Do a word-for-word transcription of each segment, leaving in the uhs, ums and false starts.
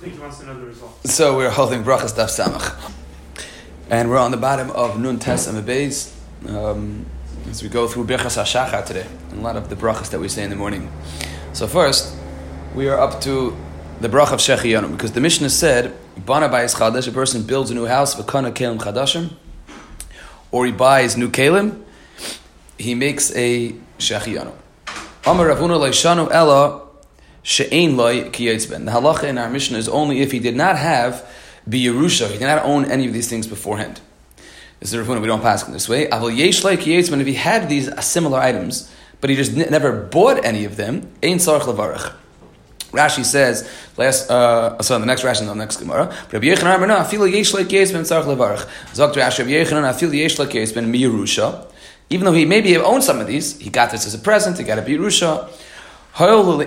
think he wants to know the result. So we're holding Brachas Daf Samach. And we're on the bottom of Nun Tes Amud Beis um, as we go through Birchas HaShachar today, and a lot of the brachas that we say in the morning. So first, we are up to the brach of Shechianu, because the Mishnah said, Bana Bayis Chadash, a person builds a new house, V'kana Kelim Chadashim, or he buys new Kelim, he makes a Shechianu. Amar Rav Huna Leishanu Ella She'ein Loi Ki Yitzben. The halacha in our Mishnah is only if he did not have B'Yerusha, he did not own any of these things beforehand. This is Rav Huna, we don't pass in this way. Aval Yesh Loi Ki Yitzben, if he had these similar items, but he just n- never bought any of them, Ein Tzarech Levarach. Rashi says, last, uh, so the next Rashi, the next Gemara, Rabbi Yechanan Amar, no, Afilu Yesh Loi Ki Yitzben Tzarech Levarach. Zok to Rashi, Rabbi Yechanan, Afilu Yesh Loi Ki Yitzben B'Yerusha. Even though he maybe have owned some of these, he got this as a present, he got a B'Yerusha. Therefore,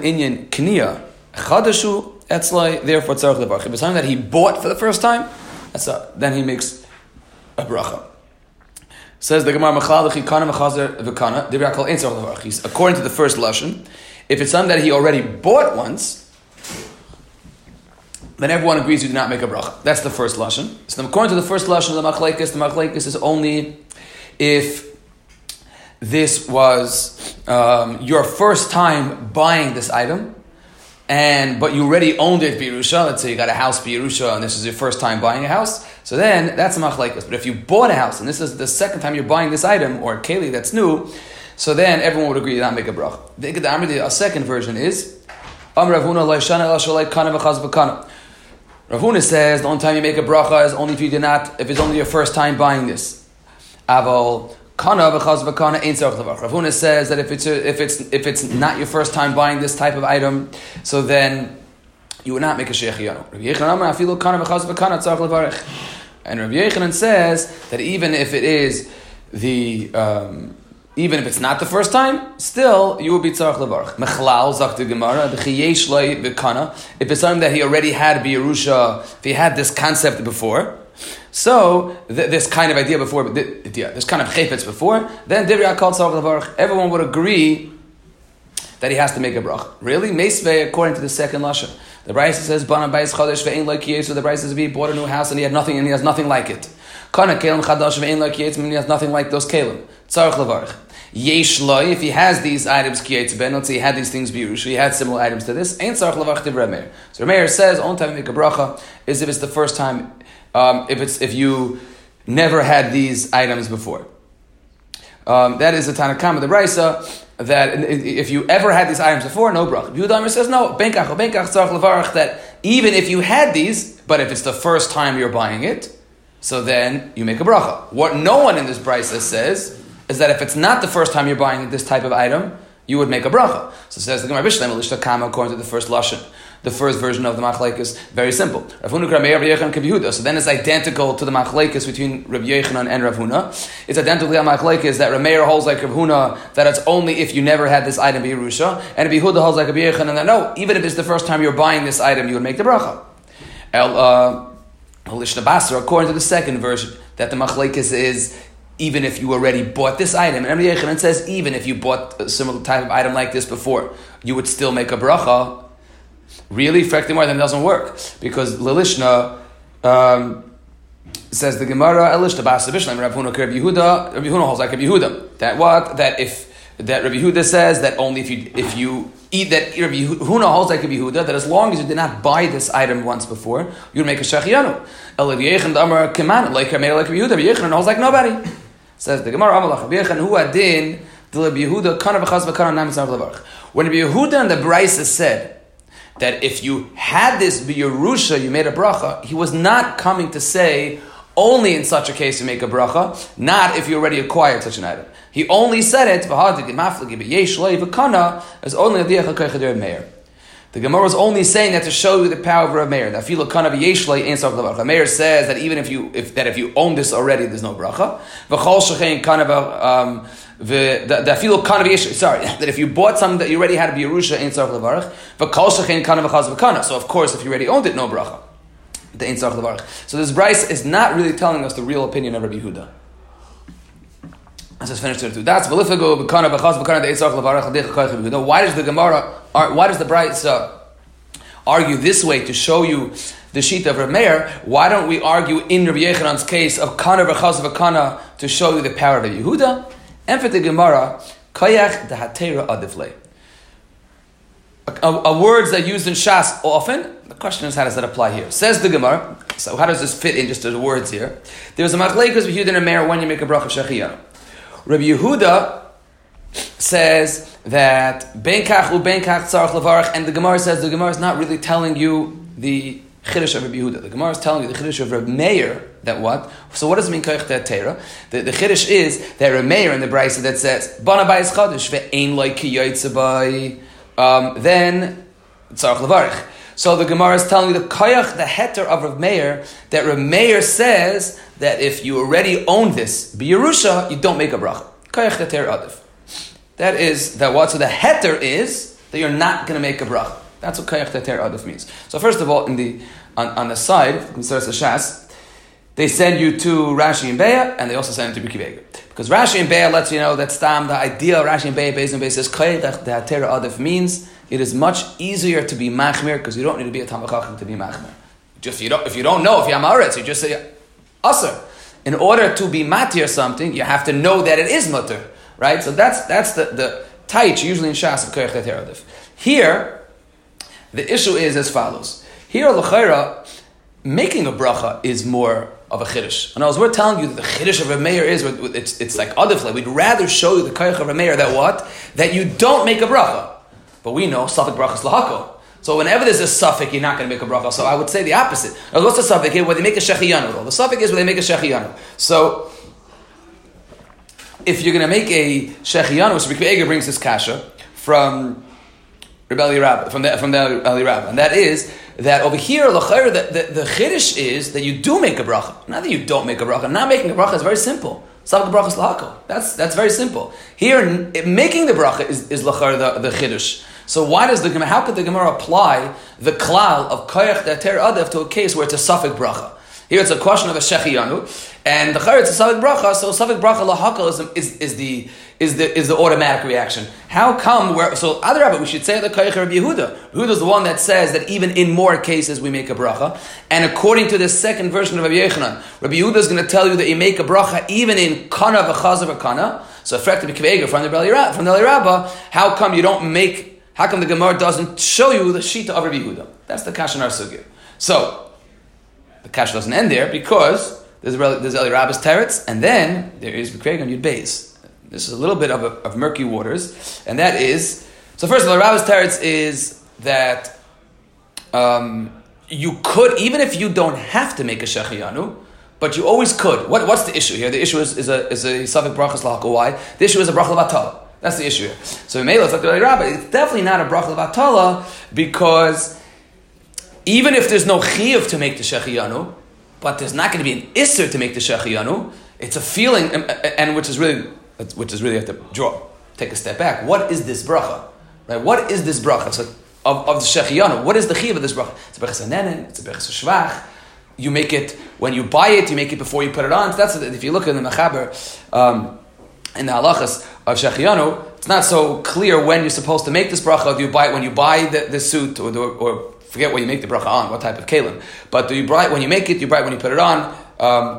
tzarech levarach. If it's something that he bought for the first time, that's a, then he makes a bracha. Says the Gemara, according to the first lashon, if it's something that he already bought once, then everyone agrees you do not make a bracha. That's the first lashon. So then according to the first lashon of the machlekes, the machlekes is only if this was um, your first time buying this item, and but you already owned it b'Yerusha. Let's say you got a house b'Yerusha, and this is your first time buying a house. So then that's a machlekes. But if you bought a house, and this is the second time you're buying this item or a keli that's new, so then everyone would agree to not make a bracha. The second version is Am Rav Huna Leishana El Shalei Kana V'Chaz V'Kana. Rav Huna says the only time you make a bracha is only if you did not, if it's only your first time buying this. Aval Kana v'chaz v'kana ain't tzarech levarach. Rav Huna says that if it's a, if it's if it's not your first time buying this type of item, so then you would not make a shechianu. Rabbi Yechanan Amar afilu kana v'chaz v'kana tzarech levarach. And Rabbi Yechanan says that even if it is the um, even if it's not the first time, still you would be tzarech levarach. Mechlal zak the Gemara the chiyesh loi v'kana. If it's something that he already had b'Yerusha, if he had this concept before. So th- this kind of idea before, th- yeah, this kind of chayfetz before, then divrei hakol tzarech levarach. Everyone would agree that he has to make a bracha. Really, meisvei according to the second lashon. The Brisa says bana bayis chadash ve'ein lo ki yitzben. The Brisa says if he bought a new house and he had nothing and he has nothing like it. Kana kelim chadash ve'ein lo ki yitzben, and he has nothing like those kelim. Tzarech levarach. Yesh loi, if he has these items ki yitzben, let's say he had these things b'Yerusha, he had similar items to this. Ain't tzarech levarach divrei Meir. So Meir says only time you make a bracha is if it's the first time. Um, if it's if you never had these items before, um, that is the Tanakama, the Brisa, that if you ever had these items before, no bracha. Yehuda says no, benkach or benkach tzarech levarach, that even if you had these, but if it's the first time you're buying it, so then you make a bracha. What no one in this Brisa says is that if it's not the first time you're buying this type of item, you would make a bracha. So it says the Gemara Bishleim Elishta Kama according to the first lashon. The first version of the machlekes is very simple. Rav Huna Rabbi Yechanan Rabbi Yehuda. So then it's identical to the machlekes between Rabbi Yechanan and Rav Huna. It's identical to the machlekes that Rav Meir holds like Rav Huna, that it's only if you never had this item b'Yerusha, and Rabbi Yehuda holds like Rabbi Yechanan that no, even if it's the first time you're buying this item, you would make the bracha. El uh, Lishna Basra, according to the second version, that the machlekes is even if you already bought this item, and Rabbi Yechanan says even if you bought a similar type of item like this before, you would still make a bracha. Really, Frektimar, then it doesn't work. Because Lilishna um, says the Gemara, Elishna Basa Bishlam, Rav Huna Rabbi Yehuda, Rabbi Huna holds like Rabbi Yehuda. That what? That if that Rabbi Yehuda says that only if you if you eat that Rabbi Huna holds like Rabbi Yehuda, that as long as you did not buy this item once before, you would make a shechianu. El Rabbi Yechanan Amar Keman, like Rabbi Yehuda, Rabbi Yechanan holds like nobody. Says the Gemara, Amalach Rabbi Yechanan Hu Adin, the Rabbi Yehuda Kana v'chaz v'kana nam tzarech levarach. When Rabbi Yehuda and the Brisa said that if you had this b'Yerusha, you made a bracha, he was not coming to say only in such a case you make a bracha, not if you already acquired such an item. He only said it, as only the Gemara was only saying that to show you the power of Rav Meir. The Meir says that even if you if that if you own this already, there's no bracha. Um, The the, the feel kind of sorry that if you bought something that you already had a b'Yerusha ain't tzarech levarach, but kol shechein kana v'chaz v'kana. So of course, if you already owned it, no bracha. The ain't tzarech levarach. So this Brisa is not really telling us the real opinion of Rabbi Yehuda. Let's just finish it. That's v'lifago v'kana v'chaz v'kana the ain't tzarech levarach. Why does the Gemara? Why does the Brisa argue this way to show you the sheet of Rav Meir, why don't we argue in Rabbi Yechanan's case of kana v'chaz v'kana to show you the power of Yehuda? And for the Gemara, koyach dehatera adifle. A words that are used in Shas often. The question is, how does that apply here? Says the Gemara. So how does this fit in just to the words here? There's a machlekes with Yehuda and Rav Meir when you make a bracha shechiyanu. Rabbi Yehuda says that ben kach u ben kach tzarich levarach, and the Gemara says the Gemara is not really telling you the chiddush of Rabbi Yehuda. The Gemara is telling you the chiddush of Rabbi Meir. That what? So what does it mean koyach te'atera? The the chiddush is that Rabbi Meir in the brayso that says bana bayis chadash ve'ein loy ki yoytze bay. Um, then tzarich levarach. So the Gemara is telling you the koyach, the heter of Rav Meir, that Rav Meir says that if you already own this b'Yerusha, you don't make a bracha. Koyach heter adif. That is that what? So the heter is that you're not going to make a bracha. That's what koyach heter adif means. So first of all, in the on, on the side, Mitzvahs Shas, they send you to Rashi and Beya, and they also send you to B'Kivega. Because Rashi and Beya lets you know that stam the ideal Rashi and Beya, Beis and Beis says koyach heter adif means it is much easier to be machmir because you don't need to be a Talmid Chacham to be machmir. Just you don't if you don't know if you're Amaretz, you just say Aser. In order to be matir something, you have to know that it is mutter, right? So that's that's the the taich usually in Shas of koyach heter adif. Here, the issue is as follows. Here, l'chayra, making a bracha is more of a chiddush. And as we're telling you that the chiddush of Rav Meir is, it's it's like adif. Like we'd rather show you the koyach of Rav Meir that what that you don't make a bracha. But we know suffix brachas lahako. So whenever there's a suffix, you're not going to make a bracha. So I would say the opposite. Now, what's the suffix here? Where they make a shechiyanu. The suffix is where they make a shechiyanu. So if you're going to make a shechiyanu, so Rabbi Eger brings this kasha from Rebbe Rabba, from the from the Eli Rabba, and that is that over here, l'chayr, the, the, the chiddush is that you do make a bracha. Not that you don't make a bracha. Not making a bracha is very simple. Suffix brachas lahako. That's that's very simple. Here, making the bracha is is l'chayr the the chiddush. So why does the Gemara, how could the Gemara apply the klal of koyach heter adif to a case where it's a suffix bracha? Here it's a question of a shechiyanu, and the chayr it's a suffix bracha, so suffix bracha lahakal is, is is the is the is the automatic reaction. How come where so other Rabbi we should say the koyach of Yehuda. Yehuda is the one that says that even in more cases we make a bracha, and according to the second version of Rabbi Yechanan, Rabbi Yehuda is going to tell you that you make a bracha even in kana v'chazav v'kana. So effectively kivega from the from the Eli Rabba, how come you don't make? How come the Gemara doesn't show you the shita of Rabbi Yehuda? That's the kasha in our sugya. So the kasha doesn't end there because there's there's Eli Rabba's teretz, and then there is B'Kveg and Yud Beis. This is a little bit of, a, of murky waters, and that is so. First of all, Eli Rabba's teretz is that um, you could, even if you don't have to make a shechiyanu, but you always could. What, what's the issue here? The issue is, is a is a suffix brachas lahako. Why? The issue is a bracha levatala. That's the issue here. So Mela, it's like the Rabbi. It's definitely not a bracha levatala because even if there's no chiyuv to make the shechiyanu, but there's not going to be an isser to make the shechiyanu, it's a feeling, and, and which is really, which is really have to draw, take a step back. What is this bracha? Right? What is this bracha? So of, of the shechiyanu, what is the chiyuv of this bracha? It's a brachas hanenin. It's a brachas shvach. You make it when you buy it. You make it before you put it on. So that's if you look in the mechaber. Um, in the halachas of shechiyanu, it's not so clear when you're supposed to make this bracha. Do you buy it when you buy the, the suit, or, the, or forget what you make the bracha on, what type of kalim? But do you buy it when you make it? Do you buy it when you put it on? Um,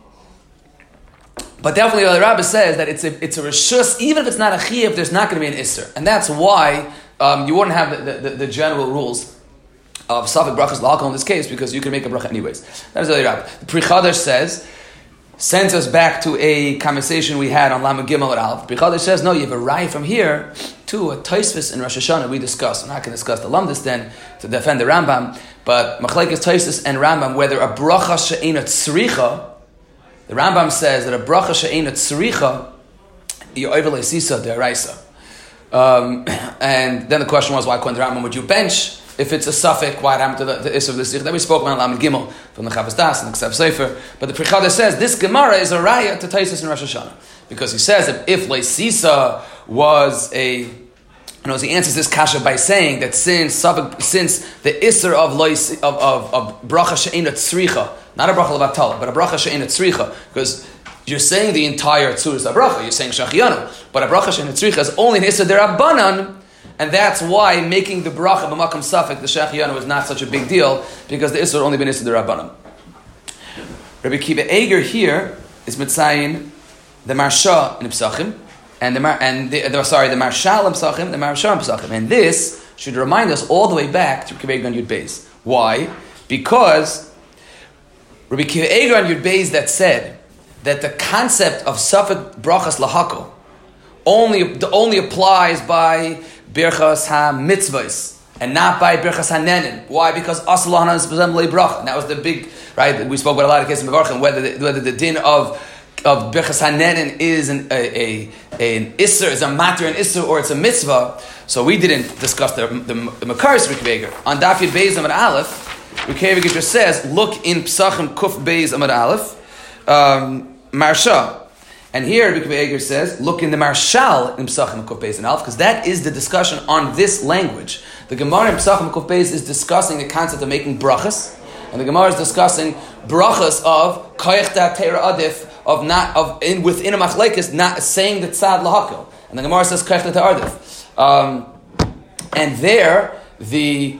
but definitely, the Rabbi says that it's a it's a reshus, even if it's not a chiyuv, there's not going to be an isser, and that's why um, you wouldn't have the, the, the general rules of suffix brachas lahakol in this case because you can make a bracha anyways. That is the Rabbi. The Pri Chadash says. Sends us back to a conversation we had on Lamed Gimel at Aleph. B'Chadash says, no, you have a raya from here to a Tosfos in Rosh Hashanah we discussed. I'm not going to discuss the Lamdas then to defend the Rambam, but Machlekes Tosfos and Rambam, whether a bracha she'ena tzricha, the Rambam says that a bracha she'ena tzricha, you're overlay sisa deraisa. Um, and then the question was, why couldn't the Rambam, would you bench? If it's a suffix, why happened to the, the Isser of the Sikh? That we spoke about Lamed Gimel from the Chavos Das and the Ksav Sefer. But the Pri Chadash says this Gemara is a raya to Tosfos in Rosh Hashanah because he says that if Leisisa was a, you know, he answers this kasha by saying that since since the Isser of Leis of of, of bracha she'ena tzricha, not a bracha levatala, but a bracha she'ena tzricha, because you're saying the entire tzur is a bracha, you're saying shachiyanu, but a bracha she'ena tzricha is only an Isser derabbanan. And that's why making the bracha b'makam safek, the shechiyanu, is not such a big deal, because the Isser only been Isser the Rabbanim. Rabbi Kiva Eger here is mitzayin the Marsha in Psachim, and the Mar- and the, the sorry the Marshal in Psachim, the Marsha in Psachim, and this should remind us all the way back to Rabbi Kiva Eger on Yud Beis. Why? Because Rabbi Kiva Eger on Yud Beis that said that the concept of safek brachas lahakol only only applies by birchas ha-mitzvahs and not by birchas ha-nenin. Why? Because asal hana is presumably bracha. And that was the big, right, we spoke about a lot of cases in Mevarchim, whether the, whether the din of of birchas ha-nenin is an, a, a, an isser, is a matter an isser, or it's a mitzvah. So we didn't discuss the, the, the Makaris Rabbi Kiva Eger. On Daf Yud Beis Amud Aleph, Rabbi Kiva Eger just says, look in Psachim Kuf Beis Amud Aleph, um, Marsha. And here Rabbi Kiva Eger says, look in the Marshal in Psachim Kuf Beis and Aleph, because that is the discussion on this language. The Gemara in Psachim Kuf Beis is discussing the concept of making brachas, and the Gemara is discussing brachas of koyach da'atera adif, of not of in within a machlekes, not saying the tzad lahakol. And the Gemara says koyach da'atera adif. Um, and there the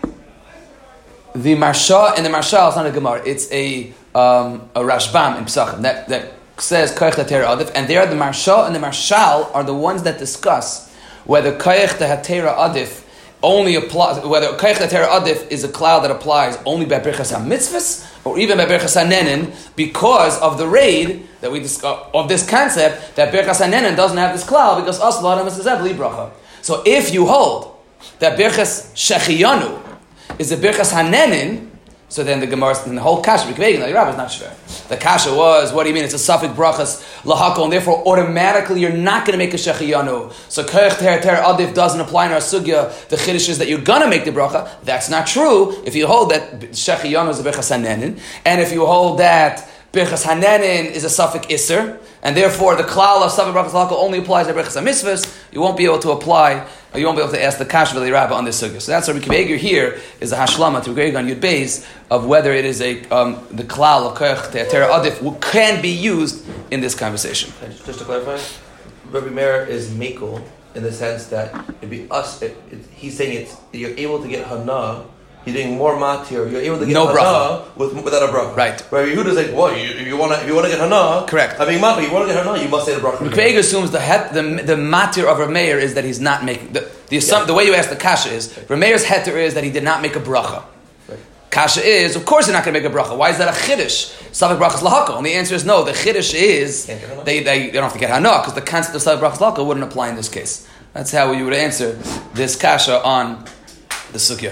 the Marsha and the Marshal is not a Gemara; it's a um, a Rashbam in Psachim that that says koyach da'atera adif. And there the Marsha and the Marshal are the ones that discuss whether koyach da'atera adif only applies, whether koyach da'atera adif is a cloud that applies only by birchas ha-mitzvahs or even by birchas ha-nenin, because of the raid that we discuss of this concept that birchas ha-nenin doesn't have this cloud because asal adam is bli bracha. So if you hold that birchas shechiyanu is a birchas ha-nenin, so then the Gemara and the whole kasha like the Rabbah is not shver. The kasha was, what do you mean? It's a safek brachas lahakol, and therefore automatically you're not going to make a shechiyanu. So koyach da'atera adif doesn't apply in our sugya. The chiddush is that you're going to make the bracha. That's not true. If you hold that shechiyanu is a birchas hanenin, and if you hold that birchas hanenin is a safek iser, and therefore the klal of safek brachas lahakol only applies to birchas ha-mitzvahs, you won't be able to apply. You won't be able to ask the kasha v'li Rabbah on this sugya. So that's Rabbi Kiva Eger here is a hashlama to Rabbi Kiva on Yud Beis of whether it is a um, the klal of koyach da'atera adif can be used in this conversation. Just, just to clarify, Rabbi Meir is mekel in the sense that it'd be us. It, it, he's saying it's you're able to get hana. You're doing more matir. You're able to get no hana with, without a bracha. Right. Rabbi Yehuda is like, what? You, if you want to, if you want to get hana, correct. I mean, matir. You want to get hana, you must say the bracha. Rabbi Eger assumes the het, the the matir of Rabbi Meir is that he's not making the the, yeah. the way you ask the kasha is Rabbi Meir's heter is that he did not make a bracha. Right. Kasha is, of course, you're not going to make a bracha. Why is that a chiddush? Safek brachas lahakol. And the answer is no. The chiddush is they, they they don't have to get hana because the concept of safek brachas lahakol wouldn't apply in this case. That's how you would answer this kasha on the sugya.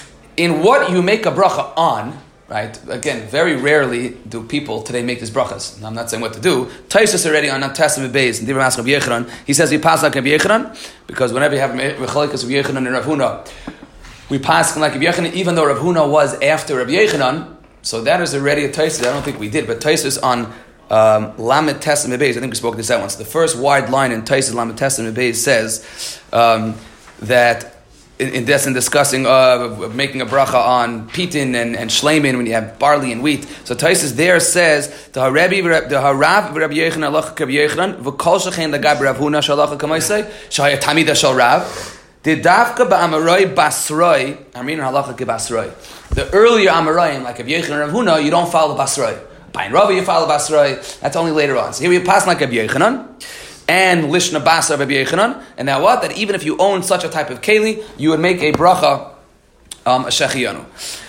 In what you make a bracha on, right? Again, very rarely do people today make these brachas. I'm not saying what to do. Taisus already on Testament Beis and Dibra Maschav Yechanan, he says we pass like Rabbi Yechanan because whenever you have mechalikas of Yechanan and Rav Huna, we pass like Rabbi Yechanan, even though Rav Huna was after Rabbi Yechanan. So that is already a Taisus. I don't think we did, but Taisus on um, Lamed Testament Beis. I think we spoke this out once. The first wide line in Taisus Lamed Testament Beis says um, that. In, in this and discussing uh, making a bracha on pitin and, and shleimin when you have barley and wheat. So Taisus there says the harabi the harav Rabbi Yechanan halacha Rabbi Yechanan v'kol shechein lagab Rav Huna shalacha kamaisei shaya tamida shal Rav the davka ba'amaroi basroi amin halacha kebasroi. The earlier amarayim like Rabbi Yechanan and Rav Huna, you don't follow basroi. By Rav you follow basroi. That's only later on. So here we pass like Rabbi Yechanan. And Lishna Basa Rabbi Yechanan, and now what? That even if you own such a type of keli, you would make a bracha, um, a shechiyanu.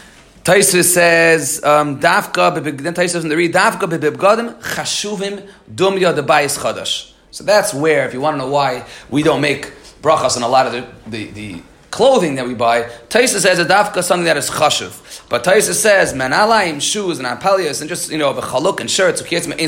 Taisus says, um, Davka, then Taisus in the read, Davka bebibgadim chashuvim dumya debayis chadash. So that's where, if you want to know why we don't make brachas on a lot of the, the, the clothing that we buy, Taisus says a Davka something that is chashuv. But Taisus says, manalaim, shoes, and apalias, and just, you know, the chaluk and shirts,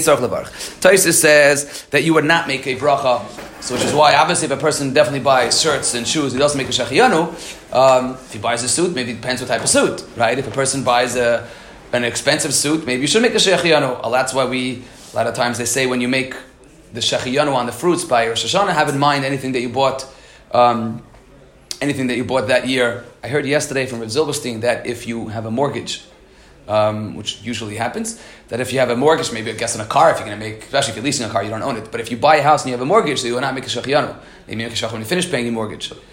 Taisus says that you would not make a bracha, so which is why, obviously, if a person definitely buys shirts and shoes, he doesn't make a shechiyanu. Um, if he buys a suit, maybe it depends what type of suit, right? If a person buys a an expensive suit, maybe you should make a shechiyanu. Well, that's why we, a lot of times they say when you make the shechiyanu on the fruits by Rosh Hashanah, have in mind anything that you bought, um, anything that you bought that year. I heard yesterday from Rav Zilberstein that if you have a mortgage, um, which usually happens, that if you have a mortgage, maybe I guess on a car, if you're going to make, especially if you're leasing a car, you don't own it. But if you buy a house and you have a mortgage, so you will not make a shechiyanu. Maybe you make a shechiyanu when you finish paying your mortgage.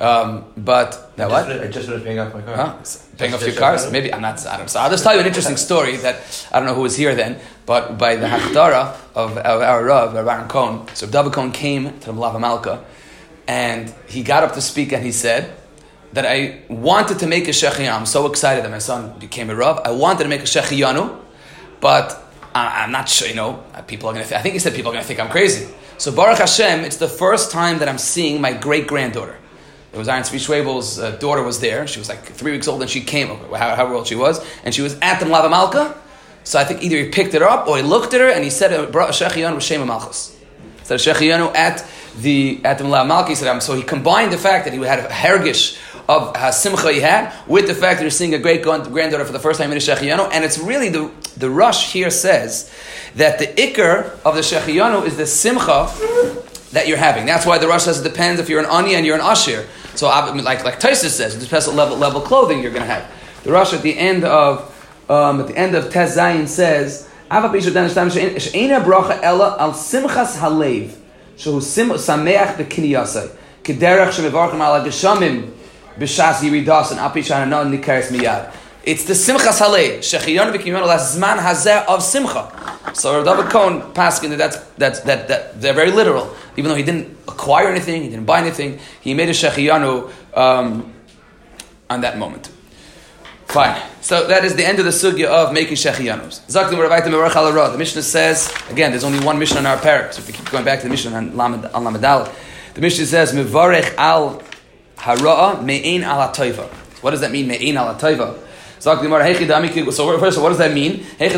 Um, but that I what? Just, I just finished paying off my car. Huh? Paying off your cars? Maybe I'm not. I don't. So I'll just tell you an interesting story that I don't know who was here then, but by the Haftarah of, of our Rav, Aaron Cohen. So David Cohen came to the Malava Malka, and he got up to speak, and he said that I wanted to make a Shechiyanu. I'm so excited that my son became a Rav. I wanted to make a Shechiyanu, but I, I'm not sure. You know, people are going to. Th- I think he said people are going to think I'm crazy. So Baruch Hashem, it's the first time that I'm seeing my great granddaughter. It was Aaron Tzvi Schwebel's uh, daughter was there. She was like three weeks old, and she came, how, however old she was, and she was at the Malava Malka. So I think either he picked her up or he looked at her and he said, "Shechiyanu Shema Malchus." He said Shechiyanu at the at the Malava Malka. He said, um, so he combined the fact that he had a hergish of uh, simcha he had with the fact that you're seeing a great granddaughter for the first time in a Shechiyanu, and it's really the the Rush here says that the ikar of the Shechiyanu is the simcha that you're having. That's why the Rush says it depends if you're an ani and you're an ashir. So, like like Taisus says, it depends what level level clothing you're going to have. The Rush at the end of um, at the end of Tez Zayin says, "Ava b'ishu dan shtam she'ena bracha ela al simchas halev, shehu sim sameach b'kiniyasai, kederach shemevarchem ala geshamim b'shas yiridas and api shana nikares miyad." It's the simchas halev, shechiyanu v'kiniyanu lazman hazeh of simcha. So David Cohen paskin that that's, that's that that they're very literal. Even though he didn't acquire anything, he didn't buy anything, he made a shechiyanu um, on that moment. Fine. So that is the end of the sugya of making shechiyanus. The Mishnah says, again, there's only one Mishnah in our parak, so if we keep going back to the Mishnah on Lamed Aleph, the Mishnah says, Mevarech al hara'a me'ein al ha'toiva. What does that mean, me'ein al ha'toiva? So first of all, what does that mean? There's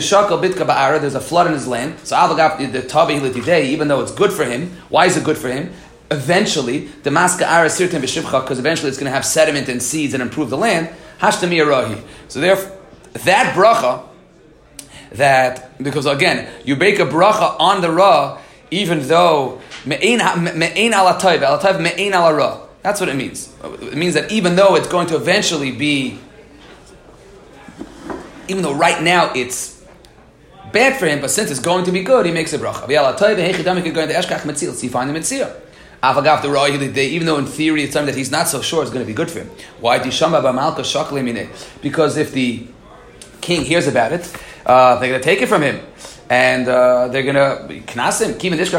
a flood in his land. So even though it's good for him, why is it good for him? Eventually, the maska ara sirtim b'shivcha, because eventually it's going to have sediment and seeds and improve the land. Hashtami arahi. So therefore, that bracha, that because again, you bake a bracha on the ra, even though me'ein ala tayv, ala tayv me'ein ala ra. That's what it means. It means that even though it's going to eventually be, even though right now it's bad for him, but since it's going to be good, he makes a bracha. Even though in theory it's something that he's not so sure is going to be good for him. Why? Because if the king hears about it, uh, they're going to take it from him. And uh, they're going to knas him,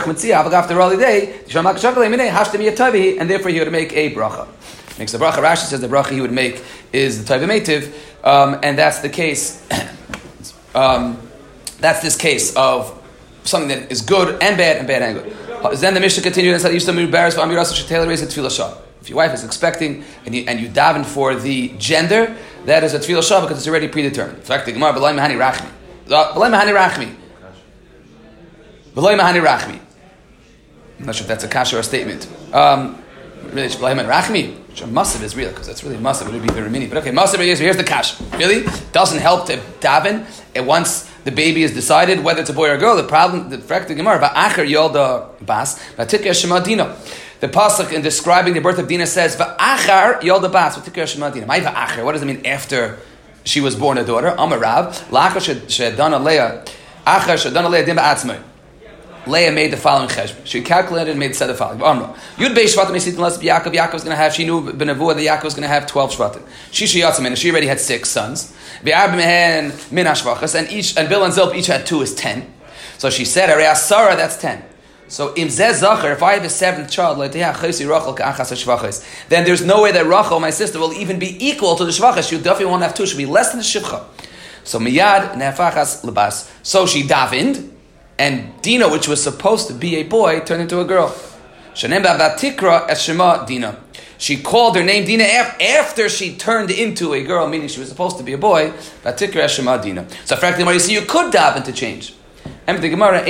and therefore he would make a bracha. Makes a bracha. Rashi says the bracha he would make is the Taiva Meitiv, um, and that's the case. um, that's this case of something that is good and bad and bad and good. Then the Mishnah continues and said, "If your wife is expecting and you and you daven for the gender, that is a tefillah shah because it's already predetermined." In fact, the Gemara b'lay mahani rachmi, b'lay mahani rachmi, b'lay mahani rachmi. I'm not sure if that's a kasha or a statement. Um, really, b'lay mahani rachmi. Massive is real because that's really massive. It would be very mini, but okay, massive is here's the kash. Really doesn't help to daven. And once the baby is decided whether it's a boy or a girl, the problem, the fact the Gemara, va'acher yolda bas, va'tikya shema dina. The pasuk in describing the birth of Dina says va'achar yolda bas, va'tikya shema dina. My va'acher. What does it mean after she was born a daughter? Amarav la'achar shedana leah, achar shedana leah dim ba'atzmai. Leah made the following cheshbon. She calculated and made said the following. Yud beis shvatim esit unless Yaakov. Yaakov was going to have. She knew b'nevuah that Yaakov was going to have twelve shvatim. Shisha yatzim, and she already had six sons. V'arb mehen min hashvachas, and each and Bill and Zilp each had two is ten. So she said, "Arei asara, that's ten." So im zeh zacher, if I have a seventh child, then there's no way that Rachel, my sister, will even be equal to the shvachas. She definitely won't have two. She'll be less than the shivcha. So miyad nefachas lebas. So she davened. And Dina, which was supposed to be a boy, turned into a girl. Dina. She called her name Dina after she turned into a girl, meaning she was supposed to be a boy. Dina. So, frankly, you see, you could daven to change. That's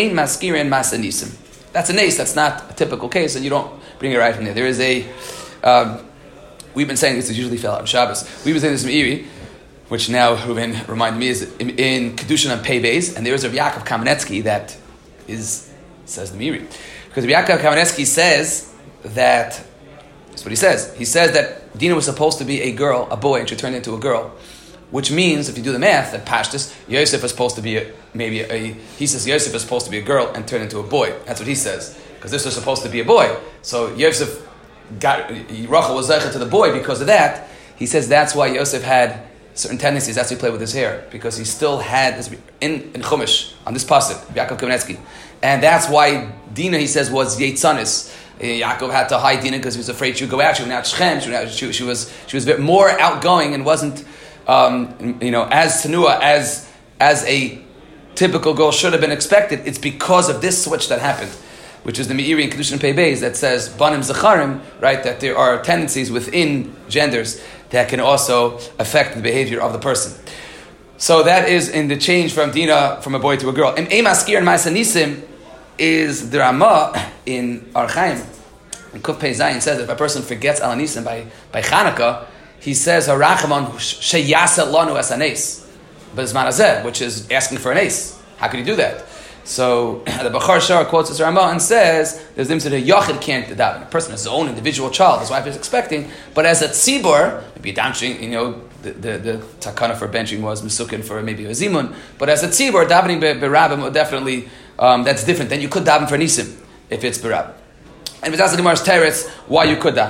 a nace. That's not a typical case, and you don't bring it right from there. There is a. Um, we've been saying this is usually fell out on Shabbos. We've been saying this from Iri, which now Ruben reminded me is in, in Kedushin on Pei Beis, and there is a Yaakov Kamenetsky that is says the Miri, because Yaakov Kamenetsky says that that's what he says. He says that Dina was supposed to be a girl, a boy, and she turned into a girl, which means if you do the math, that Pashtus Yosef is supposed to be a, maybe a. He says Yosef is supposed to be a girl and turn into a boy. That's what he says, because this was supposed to be a boy. So Yosef got Rachel was zeicha to the boy because of that. He says that's why Yosef had certain tendencies. That's why he played with his hair, because he still had this in in Chumash on this pasuk, Yaakov Kamenetsky, and that's why Dinah, he says, was Yetzanis. Yaakov had to hide Dinah because he was afraid she would go out. She went out Shechem. She, went out, she, she was she was more outgoing and wasn't um, you know as tenua as as a typical girl should have been expected. It's because of this switch that happened, which is the Meiri and Kedushin Pei Beis that says Banim Zacharim, right? That there are tendencies within genders that can also affect the behavior of the person. So that is in the change from Dinah from a boy to a girl. Im Eim Askir and Ma'aseh Nisim is the Ramah in Or Chaim. And Kuf Pei Zayin says that if a person forgets Al Nisim by by Chanukah, he says Harachamon Sheyasa Lanu Es Hanes, but it's Manazeh, which is asking for an ace. How could he do that? So the Bachar Shar quotes this Ramah and says there's them to the Yachid can't daven. A person has his own individual child, his wife is expecting, but as a tzibur, maybe a benching, you know, the the, the takana for benching was Mesukin for maybe a zimun, but as a tzibur, davening berabim would definitely um, that's different. Then you could daven for nisim if it's berab. And if it's asking Gemara's teretz why you could daven.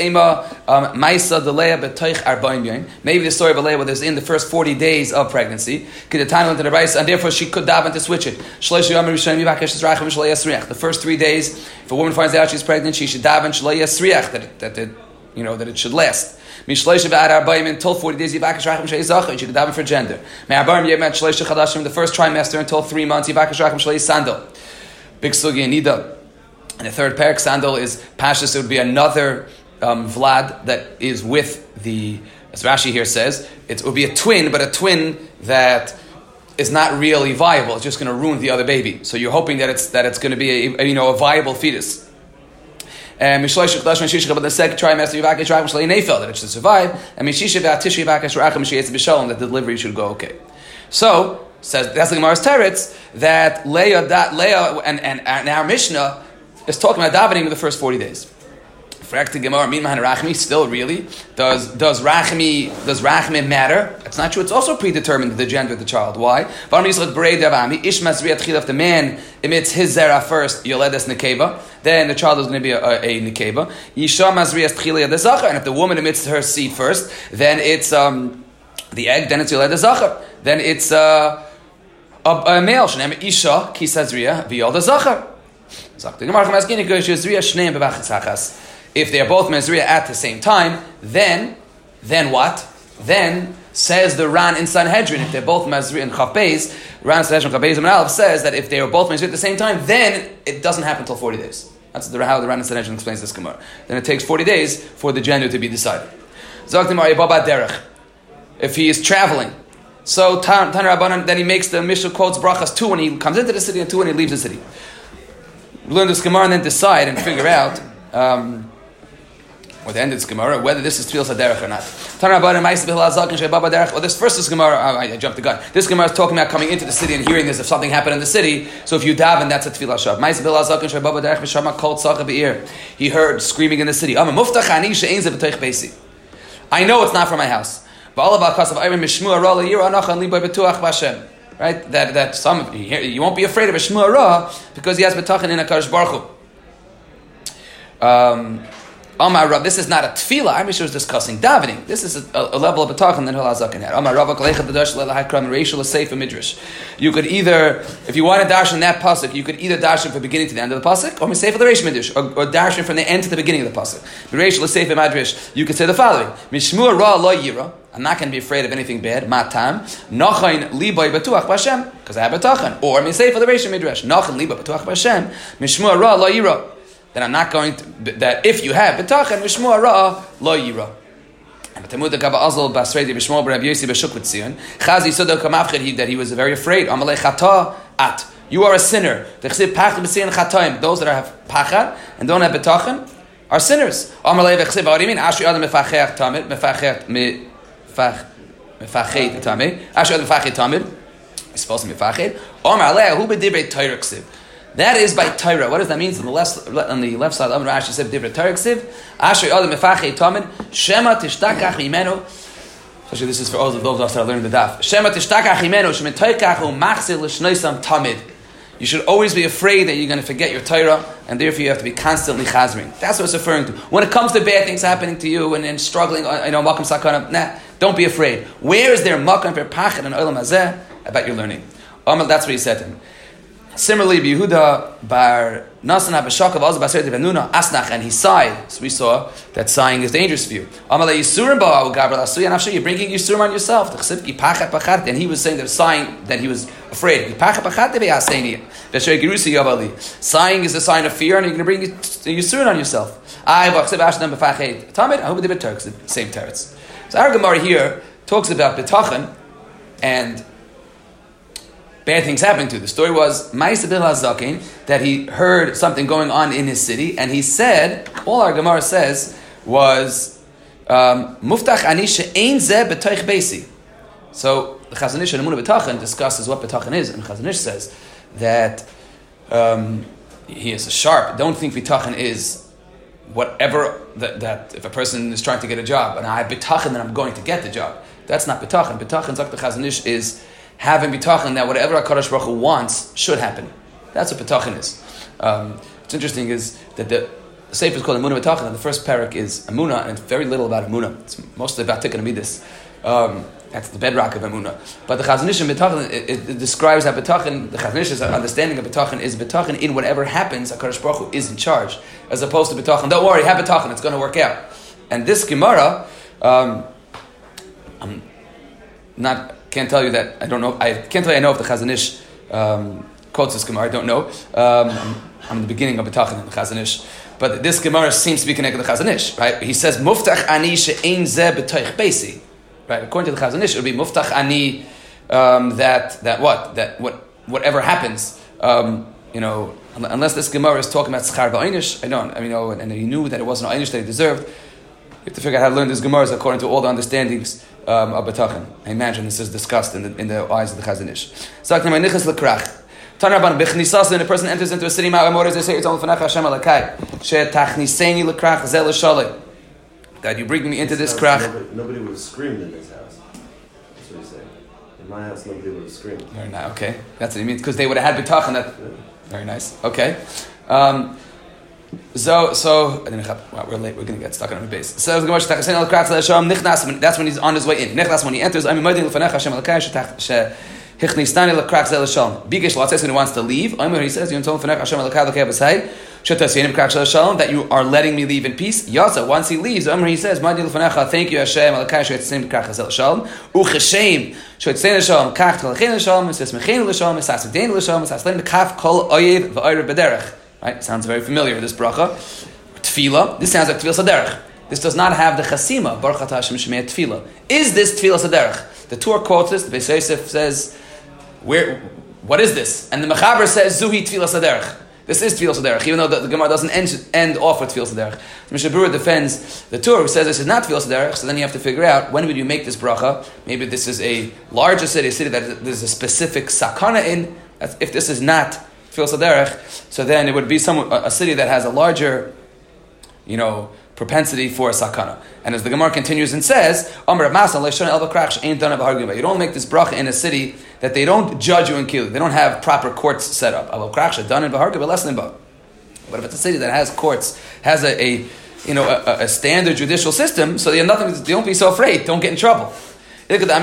Maybe the story of Leah was in the first forty days of pregnancy, and therefore she could daven to switch it. The first three days, if a woman finds out she's pregnant, she should daven that that it, you know that it should last. Until forty days, you should daven for gender. The first trimester until three months, sandal. Big sugi and nida. And the third parak sandal is Pashas. It would be another um, Vlad that is with the, as Rashi here says, it would be a twin, but a twin that is not really viable. It's just going to ruin the other baby. So you're hoping that it's that it's going to be a, a you know a viable fetus. And the second trimester that it should survive, and that the delivery should go okay. So says that's the Gemara's teretz that Leah, that Leah, and, and and our Mishnah is talking about davening in the first forty days. Still, really, does does rachmi does rachmi matter? It's not true. It's also predetermined the gender of the child. Why? If the man emits his zera first, yoledes nekeva, then the child is going to be a, a, a nekeva. And if the woman emits her seed first, then it's um, the egg. Then it's yoledes zachar. Then it's uh, a, a male. Shneim isha kisazriya v'yolda zachar. If they are both mezriya at the same time, then, then what? Then says the Ran in Sanhedrin, if they're both mezriya and chafbez, Ran Sanhedrin chafbez and Aleph says that if they are both mezriya at the same time, then it doesn't happen until forty days. That's the, how the Ran in Sanhedrin explains this Gemara. Then it takes forty days for the gender to be decided. If he is traveling, so Tan Rabbanan, then he makes the Mishnah quotes brachas two when he comes into the city and two when he leaves the city. We learn this Gemara and then decide and figure out, um, or the end of this Gemara, whether this is Tfilas HaDerech or not. Or this first is Gemara, oh, I, I jumped the gun. This Gemara is talking about coming into the city and hearing this if something happened in the city. So if you daven, that's a Tfilah Shav. He heard screaming in the city. I know it's not from my house. Right, that that some you won't be afraid of a shmua ra because he has betachin in a Kadosh Baruch Hu. Um, Amar Rav, this is not a tefillah. I'm sure is discussing davening. This is a, a level of betachin that Hillel Zaken had. Amar Rav Kalechat Dash Lelahakram Reishul Seif Midrash. You could either, if you want to dash in that pasuk, you could either dash from the beginning to the end of the pasuk, or Seif the Reish Midrash, or, or dash from the end to the beginning of the pasuk. Reishul Seif Midrash. You could say the following: Mishmua Ra Lo Yira. I'm not going to be afraid of anything bad. Matam nachain liboy batuach b'Hashem because I have betachan. Or I say for the Reish Midrash nachain liboy batuach b'Hashem mishmua ra lo yira. Then I'm not going to that if you have betachan mishmua ra lo yira. And Talmud the Gaba Azal Basrei Bishmol B'Rab Yossi B'Shukvit Zion Chazi Sodok Kamavchid that he was very afraid. Amalei Chata at you are a sinner. The Chsiv Pachad B'Siyan Chataim. Those that have pachad and don't have betachan are sinners. Amalei V'Chsiv. What do you mean? Ashri Adam Mefachech Tamid Mefachech Me. Mefached tamid. Ashad mefached tamid. It's supposed to be mefached. Omar Aleh hu b'divrei Torah ksiv. That is by Torah. What does that mean? On the left, on the left side, Amar Rashi said divrei Torah ksiv. Ashad adam mefached tamid. Shema tishtakach imenu. Especially this is for all of those of us that are learning the daf. Shema tishtakach imenu. Shema toikach hu machzil l'shnoisam tamid. You should always be afraid that you're going to forget your Torah, and therefore you have to be constantly chazering. That's what it's referring to. When it comes to bad things happening to you and, and struggling, you know, makam sakana, nah, don't be afraid. Where is there makam for pachad and olam hazeh about your learning? That's what he said to him. Similarly, Yehuda bar Nasana b'shakav also b'aseret benuna asnach, and he sighed. So we saw that sighing is dangerous for you. Amalei yisurim ba'u gabral asuya nafshe. You're bringing yisurim on yourself. And he was saying that sighing, that he was afraid. Sighing is a sign of fear, and you're going to bring yisurim on yourself. I hope they Turks, the same teretz. So our Gemara here talks about bitachon and bad things happening to. The story was Ma'aseh bil Hazakin, that he heard something going on in his city, and he said, all our Gemara says was Muftach ani she'ein zeh b'toich beisi. So the Chazon Ish and Emunah B'tachon discusses what B'tachon is, and Chazon Ish says that um, he is a sharp. Don't think B'tachon is whatever that, that if a person is trying to get a job and I have B'tachon then I'm going to get the job. That's not B'tachon. B'tachon, Zak the Chazon Ish, is having bitachon that whatever HaKadosh Baruch Hu wants should happen. That's what bitachon is. Um, what's interesting is that the Sefer is called Emunah B'tachon, and the first parak is Emunah, and it's very little about Emunah. It's mostly about Tikkun Amidus. Um, that's the bedrock of Emunah. But the Chazon Ish in B'tachon, it, it, it describes that bitachon, the Chazon Ish's understanding of bitachon is bitachon in whatever happens, HaKadosh Baruch Hu is in charge, as opposed to bitachon, don't worry, have bitachon, it's going to work out. And this Gemara, um, I'm not... Can't tell you that. I don't know. I can't tell you I know if the Chazon Ish um, quotes this Gemara. I don't know. Um, I'm, I'm in the beginning of B'tachon in the Chazon Ish, but this Gemara seems to be connected to the Chazon Ish, right? He says Muftach ani she'ein zeh b'toich beisi. Right? According to the Chazon Ish, it would be Muftach ani um, that that what that what whatever happens. Um, you know, unless this Gemara is talking about schar v'einish, I don't. I mean, you know, and, and he knew that it wasn't an einish that he deserved. You have to figure out how to learn this Gemara according to all the understandings um, of B'tachon. I imagine this is discussed in the, in the eyes of the Chazon Ish. Zakna ma'nichas l'krach. Tanarban b'chnisas, when a person enters into a city, ma'amor they say it's only f'nach Hashem alakai. She tachniseni l'krach zel l'shalei. God, you bring me into this krach. Nobody, nobody would have screamed in his house. That's what he's saying. In my house, nobody would have screamed. Very nice. Okay, that's what he means, because they would have had B'tachon. That yeah. Very nice. Okay. Um, So, so wow, we're late. We're going to get stuck on the base. So that's when he's on his way in. When he enters, I'm when he wants to leave. He says, that you are letting me leave in peace. Once he leaves, he says, thank you, Hashem. Right? Sounds very familiar, this bracha. Tefillah, this sounds like Tefillah Saderech. This does not have the chasima, Baruch Atah Hashem Shemei Tefillah. Is this Tefillah Saderech? The Torah quotes this, the Beis Yosef says, "Where? What is this?" And the Mechaber says, Zuhi Tefillah Saderech. This is Tefillah Saderech, even though the, the Gemara doesn't end, end off with Tefillah Saderech. So Mishnah Berurah defends the Torah, who says this is not Tefillah Saderech, so then you have to figure out, when would you make this bracha? Maybe this is a larger city, a city that there's a specific sakana in. If this is not so then it would be some a city that has a larger, you know, propensity for a sakana. And as the Gemara continues and says, you don't make this bracha in a city that they don't judge you and kill you. They don't have proper courts set up. But if it's a city that has courts, has a, a you know a, a standard judicial system, so you have nothing. Don't be so afraid. Don't get in trouble. No, maybe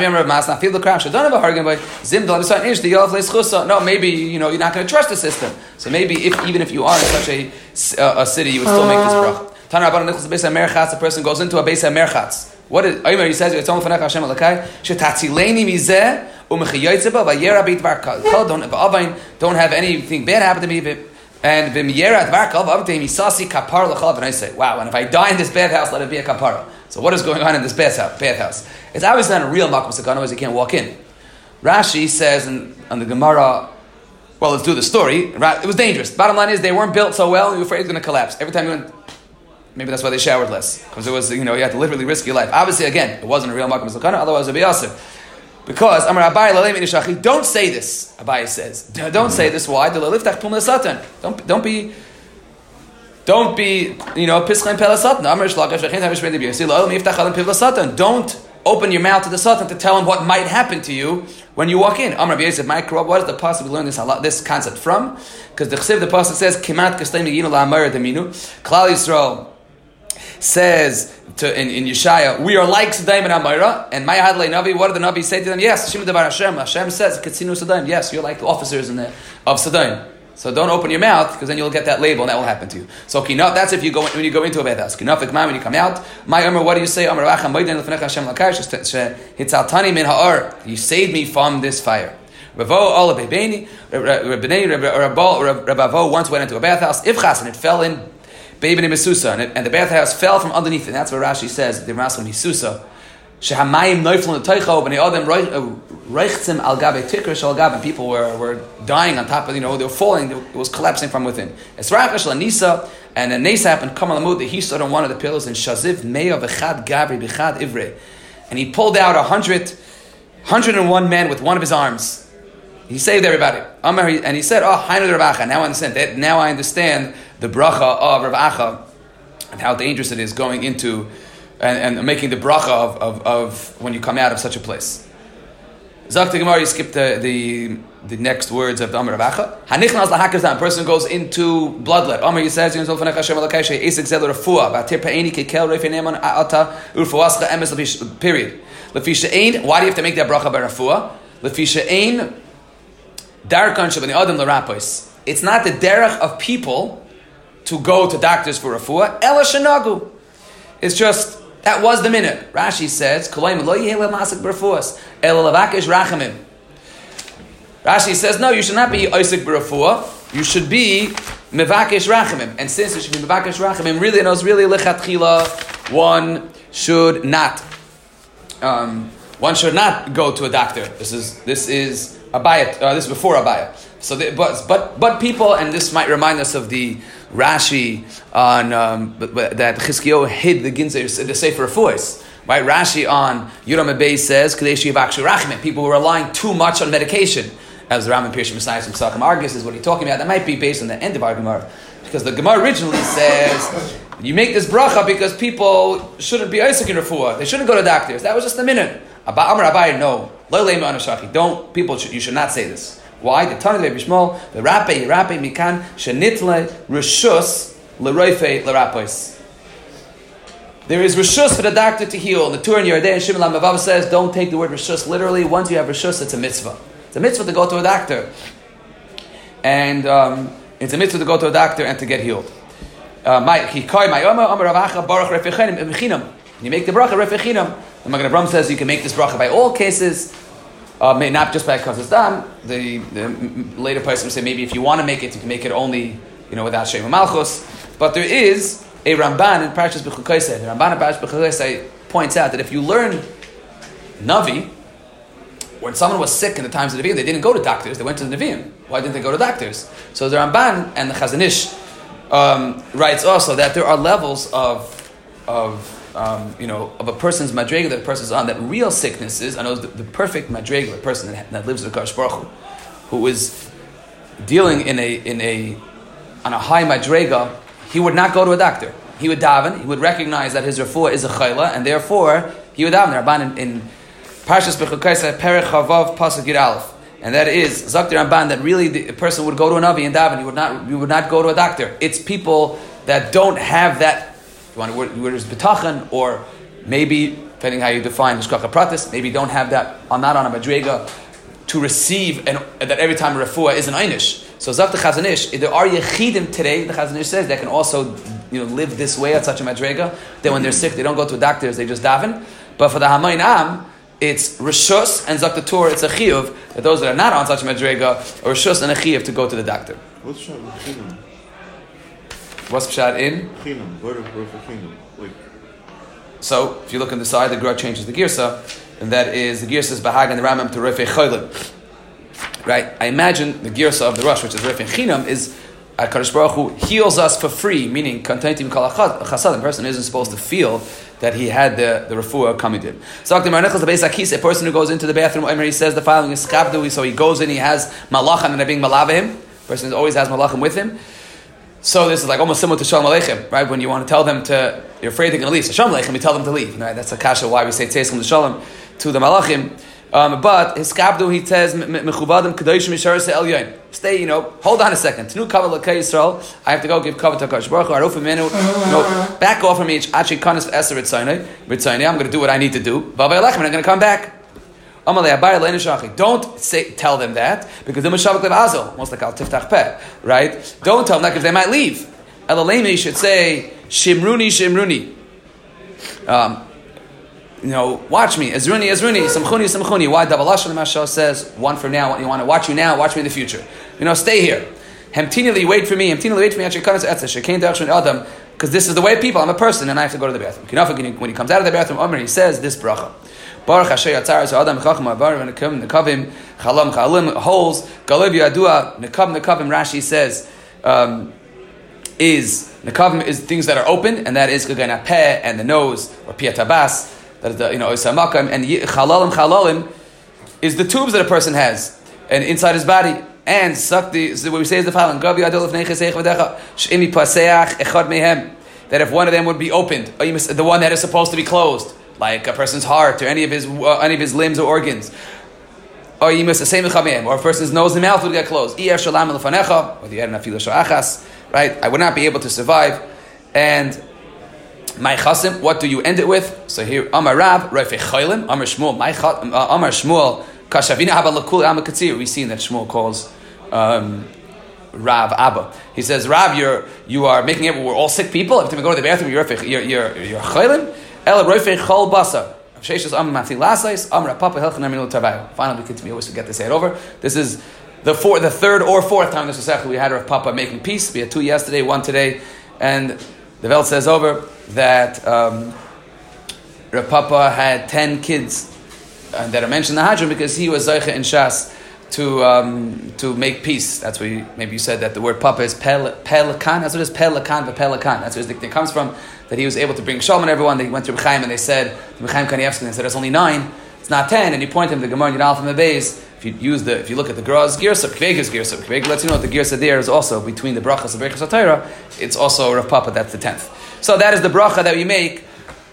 you know you're not going to trust the system. So maybe if even if you are in such a, uh, a city, you would still make this bracha. A person goes into a beis hamerchatz. What is? He says it's only for Hashem alakai. Shetatzileni mizeh u'mechayotzeba vayera beit varkal. Don't don't have anything bad happen to me. And v'miyera varkal v'avtei misasi kapar l'chalav. And I say, wow. And if I die in this bad house, let it be a kapara. So what is going on in this bad house? Bad house. It's obviously not a real makom sakana, otherwise you can't walk in. Rashi says in, on the Gemara, well, let's do the story. It was dangerous. Bottom line is they weren't built so well, and you were afraid it was going to collapse. Every time you went, maybe that's why they showered less. Because it was, you know, you had to literally risk your life. Obviously, again, it wasn't a real makom sakana, otherwise it would be asur. Because, Amar Abai lalei minishachi, don't say this, Abai says. Don't say this. Why? Don't, don't be... Don't be, you know, pischem pelasatan. Amar shlakav shechin havish b'nei b'yirsi lo'el miftach alim piv lasatan. Don't open your mouth to the Sultan to tell him what might happen to you when you walk in. Amar Rabbi Yosef, what is the pasuk we learn this this concept from? Because the Chsiv, the pasuk says, Kimat k'steim yiginu la'amar deminu. Klal Yisrael says to, in, in Yeshaya, we are like Sodom and Amora. And Maya Hadlei Navi, what did the Navi say to them? Yes, Shema Devar Hashem. Hashem says, Katsinu Sodom. Yes, you're like the officers in the, of Sodom. So don't open your mouth, because then you'll get that label, and that will happen to you. So kinaf, that's if you go when you go into a bad house. Kinaf ikman, when you come out. My Omer, what do you say? Omer Racha Moiden Lefnecha Hashem Lakar Hitzaltani Min Ha'or. You saved me from this fire. Ravo Ola Bebeni Rabbanei Rabavo once went into a bathhouse. Ivchas, and it fell in Bebeni Mesusa, and, and the bathhouse fell from underneath it. And that's what Rashi says. The Rashi Mesusa. Shehamayim Neufel Teichov, and the Adam Reichtzim Al Gabe Tikr Shal Gabe, and people were, were dying on top of, you know, they were falling, it was collapsing from within. Esrach Shal Nisa, and then Nisa happened, Kamal Amud, that he stood on one of the pillars, and Shaziv Meya V'chad Gabri B'chad Ivre, and he pulled out a hundred, hundred and one men with one of his arms. He saved everybody. And he said, oh, Hainu Rav Acha, now I understand that, now I understand the bracha of Rav Acha, and how dangerous it is going into And, and making the bracha of, of, of when you come out of such a place. Zak the Gemara, you skip the, the the next words of the Amar Rav Acha. Hanichnas lahakazdan, a person goes into bloodlet. Amar, he says, Yom Zolfanech Hashem Elokai Shei Esek Zel Refuah V'atir Pe'eni Kekel Reifei Neman A'ata Urfuascha Emes Lefish, period. Lefi She'ein, why do you have to make that bracha by Refuah? Lefi She'ein Darkan Shabani Adam L'Rapos. It's not the derech of people to go to doctors for Refuah. Ela Shenagu. It's just, that was the minute. Rashi says, Rashi says, no, you should not be Isaac B'Refuah. You should be Mevakesh Rachamim. And since you should be Mevakesh Rachamim, really, it was really Lechatchila, one should not, um, one should not go to a doctor. This is, this is Abaya, uh, this is before Abaya. So, the, but, but, but people, and this might remind us of the Rashi on um, but, but that Chizkiyahu hid the Ginzer, the Sefer Refuos, right? Rashi on Yuram Abay says, Kadesh Yivakshu Rachmim. People were relying too much on medication, as the Rambam Pirshim Messiah from Sacham Argus is what he's talking about. That might be based on the end of our Gemara, because the Gemara originally says you make this bracha because people shouldn't be Isaac in Refuah. They shouldn't go to doctors. That was just a minute. Amar Abai, no, don't people. Should, you should not say this. Why? The Tana Rebbe Shmuel, the Rape, Rape Mikan, Shenitle Rishus L'Roife L'Rapos. There is Rishus for the doctor to heal. The Tur in Yerdei and Shimon Lamavav says, don't take the word Rishus literally. Once you have Rishus, it's a mitzvah. It's a mitzvah to go to a doctor. And um, it's a mitzvah to go to a doctor and to get healed. Uh, you make the bracha Refechinam. The Magen Avraham says you can make this bracha by all cases. Uh, may not just by Kazas Dam. The, the later person say maybe if you want to make it, you can make it only, you know, without Shema Malchus. But there is a Ramban in Parashas B'chukaisei. The Ramban in Parashas B'chukaisei points out that if you learn Navi, when someone was sick in the times of the Nevi'im, they didn't go to doctors, they went to the Nevi'im. Why didn't they go to doctors? So the Ramban and the Chazon Ish um, writes also that there are levels of of Um, you know, of a person's madrega that a person's on, that real sicknesses, I know the, the perfect madrega, a person that, that lives with Kadosh Baruch Hu, who is dealing in a, in a, on a high madrega, he would not go to a doctor. He would daven, he would recognize that his refuah is a chayla, and therefore, he would daven. The Ramban in, in Parshas B'chukaisei, Perek Chavav, Pasuk Yud Aleph, and that is, Zakti Ramban, that really the person would go to a Navi and daven, he would not, he would not go to a doctor. It's people that don't have that. You want to word, word is betachan, or maybe, depending how you define hishkacha pratis, maybe don't have that, are not on a madrega to receive, and that every time a refuah is an einish. So Zak the Chazon Ish, there are yechidim today, the Chazon Ish says, that can also, you know, live this way at such a madrega, that when they're sick, they don't go to doctors, they just daven. But for the Hamayin Am, it's Rishus, and Zak the Torah, it's a chiyuv, that those that are not on such a madrega, or Rishus and a chiyuv to go to the doctor. What's Shabbat? What's Pshat in? Chinam, word of Chinam. Like. So, if you look on the side, the Gra changes the Girsa, and that is the Girsa is Bahag and the Ramam to Refei Cholim. Right? I imagine the Girsa of the Rosh, which is Refei Chinam, is HaKadosh Baruch Hu heals us for free, meaning Kantantim Kal Chasad. The person isn't supposed to feel that he had the, the refuah coming in. So, a person who goes into the bathroom, he says the following is Chavdu, so he goes in, he has Malachim, and they're being Malavim. The person always has Malachim with him. So this is like almost similar to Shalom Aleichem, right? When you want to tell them to, you're afraid they're going to leave. So Shalom Aleichem, we tell them to leave. Right? That's a kasha why we say Tzeiskim L'Shalom to the Malachim. Um, but his kabdu, he says, Mechuvadim Kedoshim Yishar Elyon. Stay, you know, hold on a second. Tnu Kavod L'Kei Yisrael. I have to go give Kavod to Hakadosh Baruch Hu. Aruf Minu. No, back off from me. Actually, Kanis Eser Ritzaynei. Ritzaynei. I'm going to do what I need to do. Vavay Lechem, and I'm going to come back. Don't say, tell them that, because they're Mashavak Lev Azel, most like Al Tiftach Peh, right? Don't tell them that because they might leave. Elalemi should say, Shimruni, Shimruni. Um, you know, watch me, Ezruni, Ezruni, Samchuni, Samchuni. Why Dabalashon the Mashal says, one for now, you want to watch you now, watch me in the future. You know, stay here. Hemtinili, wait for me, Hemtinili, wait for me, because this is the way of people, I'm a person, and I have to go to the bathroom. When he comes out of the bathroom, Omer, he says this bracha. Baruch Hashem Yatzar so Adam Chacham Avar Nekavim Nekavim Chalam Chalim holes Galev Yadua Nekav Nekavim Rashi says um, is Nekavim is things that are open, and that is Gagana Peh and the nose or Pia Tabas, that is the you know Isamakam, and Chalalim Chalalim is the tubes that a person has and inside his body, and suck the so what we say is the following Gav Yadol Nechesech V'Decha Sh'imi Paseach Echad Mehem, that if one of them would be opened, the one that is supposed to be closed, like a person's heart or any of his uh, any of his limbs or organs, or you miss the same or a person's nose and mouth would get closed. Right? I would not be able to survive. And my chasim, what do you end it with? So here, Amar Rav, Rafei Chaylim, Amar Shmuel, my Amar Shmuel, Kashavina Haba Lakul Am Katzir. We've seen that Shmuel calls um, Rav Abba. He says, Rav, you're you are making it. We're all sick people. Every time we go to the bathroom, you're you're you're, you're Chaylim. El Roifei Chol Basar. Finally, we continue. We always forget to say it over. This is the four, the third or fourth time this was actually we had Rav Papa making peace. We had two yesterday, one today, and the Welt says over that um, Rav Papa had ten kids uh, that are mentioned in the Hadron because he was Zeicha in Shas to um, to make peace. That's where you, maybe you said that the word Papa is Pel, Pelikan. That's what it is, Pelikan, but Pelikan. That's where it comes from. That he was able to bring Shalom and everyone. They went to Reb Chaim and they said, Reb Chaim Kanievsky, and they said, it's only nine, it's not ten. And you point him to the Gemara in Yud from the base. If you use the, if you look at the Graz Girsa, Kvegas Girsa, Kveg lets you know that the Girsa there is also between the Brachas and Brachas HaTorah. It's also Rav Papa, that's the tenth. So that is the bracha that we make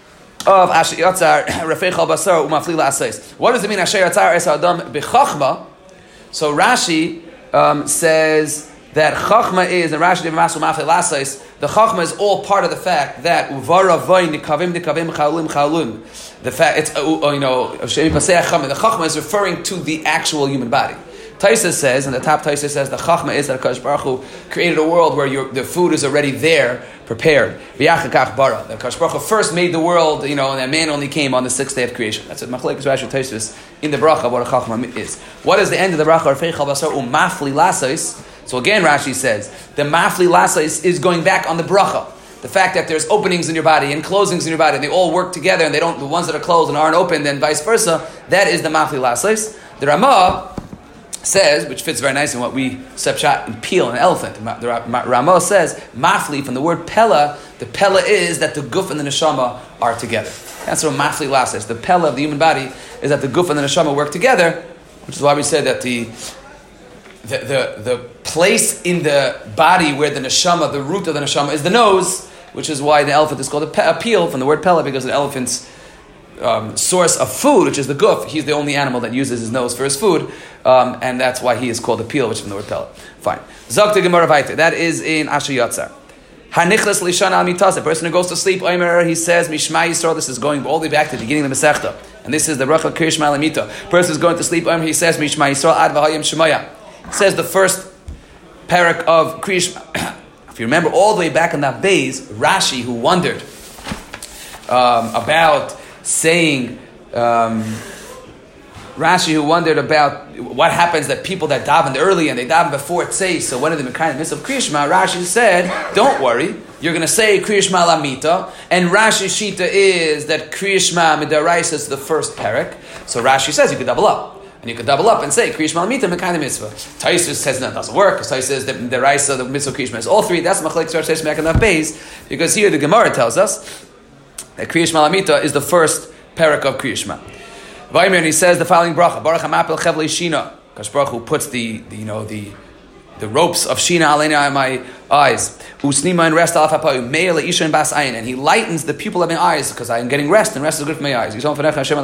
of Asher Yatzar, Rafei Chal Basar, Umafli La'asais. What does it mean, Asher Yatzar Es Adam B'chachma? So Rashi um, says that Chachma is, and Rashi Dev Masu Mafli La'asais, the Chachma is all part of the fact that Uvara Vay Nikavim Nikavim Chalulim Chalulim. The fact it's uh, you know the Chachma is referring to the actual human body. Taisa says, and the top Taisa says, the Chachma is that Hakadosh Baruch Hu created a world where your, the food is already there, prepared. V'yachakach bara. That Hakadosh Baruch Hu first made the world, you know, and that man only came on the sixth day of creation. That's what Machlekes Rashi Taisa in the bracha what a Chachma is. What is the end of the bracha? Rafei Chal Basar Umafli Lasais. So again, Rashi says the Mafli Lasais is going back on the bracha. The fact that there's openings in your body and closings in your body, and they all work together, and they don't, the ones that are closed and aren't open, then vice versa. That is the Mafli Lasais. The Ramah says, which fits very nicely in what we sepshat and peel an elephant. The Ramah says, Mafli, from the word Pella, the Pella is that the Guf and the Neshama are together. That's what Mafli Lasais. The Pella of the human body is that the Guf and the Neshama work together, which is why we said that the The, the the place in the body where the neshama, the root of the neshama, is the nose, which is why the elephant is called a, pe- a peel from the word pella, because the elephant's um, source of food, which is the guf, he's the only animal that uses his nose for his food, um, and that's why he is called a peel, which is from the word pella. Fine. Zokta Gemara Vaita. That is in Asher Yatzar. Hanichlas Lishan Al Mitas. A person who goes to sleep, Omer, he says, Mishma Yisrael. This is going all the way back to the beginning of the Masechta, and this is the Bracha Kirishma Lamita. Person is going to sleep, Omer, he says, Mishma Yisrael Ad V'Hayim Shemaya. Says the first parak of Kriyish. If you remember all the way back in that base, Rashi, who wondered um, about saying, um, Rashi, who wondered about what happens that people that davened early and they davened before it says, so when are they kind of midst of Kriyishma? Rashi said, don't worry, you're going to say Kriyishma Lamita, and Rashi's Shita is that Kriyishma Midaraisa is the first parak. So Rashi says you could double up. And you could double up and say Kriyish Malamita Mekayim Mitzvah. Taisus says no, it doesn't work. Taisus says the the Raisa, the Mitzvah Kriyish is all three. That's Machlekes Rashi Mekan Daf Beis, because here the Gemara tells us that Kriyish Malamita is the first parak of Kriyish Ma. Vaymer, and he says the following bracha: Baruch Hamapel Chevlei Shina. Kadosh Baruch Hu puts the, the you know the the ropes of Shina Alena on my eyes. Usnima and rest alaf hapayu me'el isha and bas ayin, and he lightens the pupil of my eyes because I am getting rest, and rest is good for my eyes. And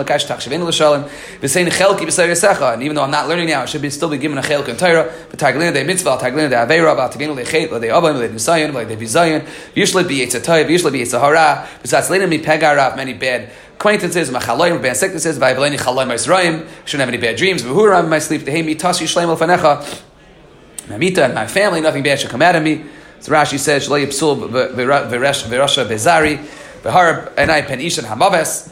even though I'm not learning now, I should be still be given a chelk and Torah. But taglina de mitzvah, taglina de avera, taglina de chet, de abam, de nisayon, like de bizayon. Usually be it's a toiv, usually be it's a hara. Besides, later me pegarav many bad acquaintances, machaloyim, bad sicknesses, vayavleni chaloyim ma'israim. Shouldn't have any bad dreams. V'huram in my sleep. Tehei mi tashi shleim al fanecha. Mamita and my family, nothing bad should come out of me. So Rashi says, "Shlei yipsul v'rasha bezari v'harab enai pen ishan hamaves